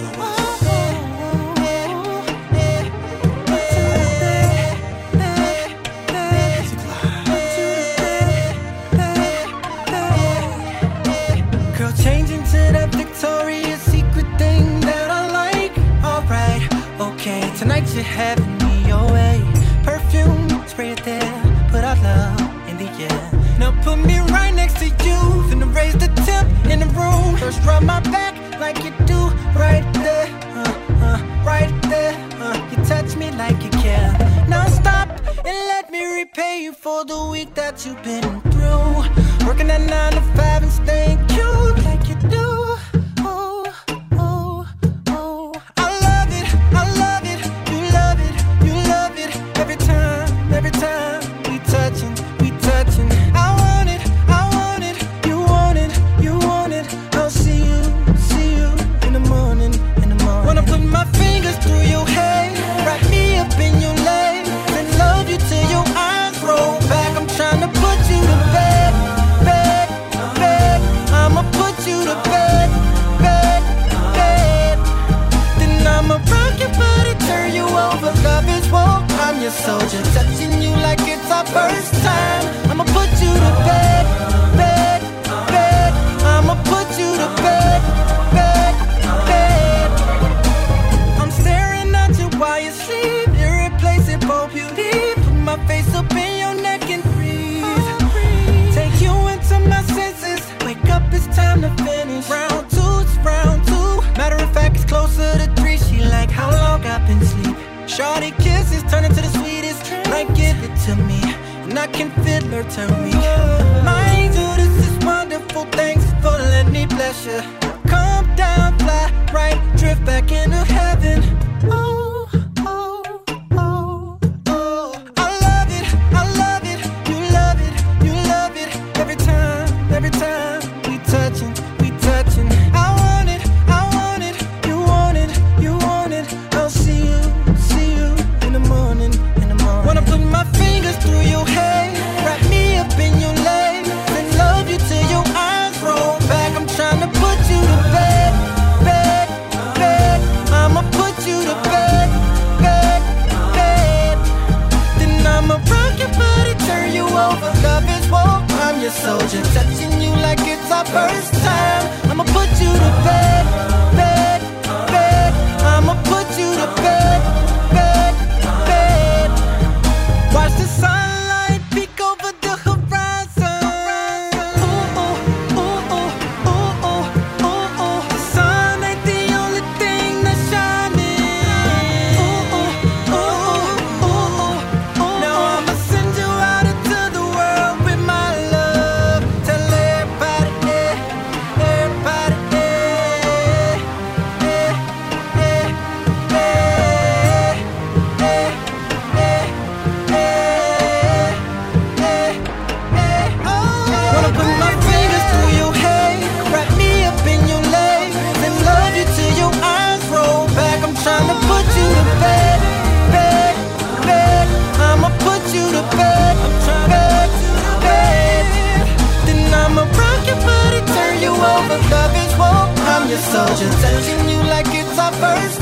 Girl, change into that Victoria's Secret thing that I like. Alright, okay, tonight you're having me your way. Perfume, spray it there, put our love in the air. Now put me right next to you, finna raise the temp in the room. First rub my back like you do, right there, right there. You touch me like you care. Now stop and let me repay you for the week that you've been through. Working at 9 to 5 and staying cute like you do. Oh, oh, oh. I love it, you love it, you love it. Every time we touching. I want it, you want it, you want it. I'll see you in the morning. Wanna put my fingers through your hair, wrap me up in your legs, and love you till your eyes roll back. I'm trying to put you to bed. I'ma put you to bed. Then I'ma rock your body, turn you over. Love is war, I'm your soldier, touching you like it's our first time. I'ma put you to bed. I'ma put you to bed. I'm staring at you while you sleep, irreplaceable beauty. Put my face up in your neck and breathe. Take you into my senses. Wake up, it's time to finish. Round two. Matter of fact, it's closer to 3. She like how long I've been sleep. Shorty kisses turn into the sweetest. Like give it to me, and I can feel her turn weak. My angel, this is wonderful. Thanks for letting me bless you. Come down, fly right, drift back into heaven. Oh, oh, oh, oh. I love it, you love it, you love it. Every time we touching. I want it, you want it, you want it. I'll see you in the morning. Wanna put my fingers through your hair, wrap me up in your legs, and love you till your eyes roll back. I'm trying to put you to bed. I'ma put you soldier, touching you like it's our first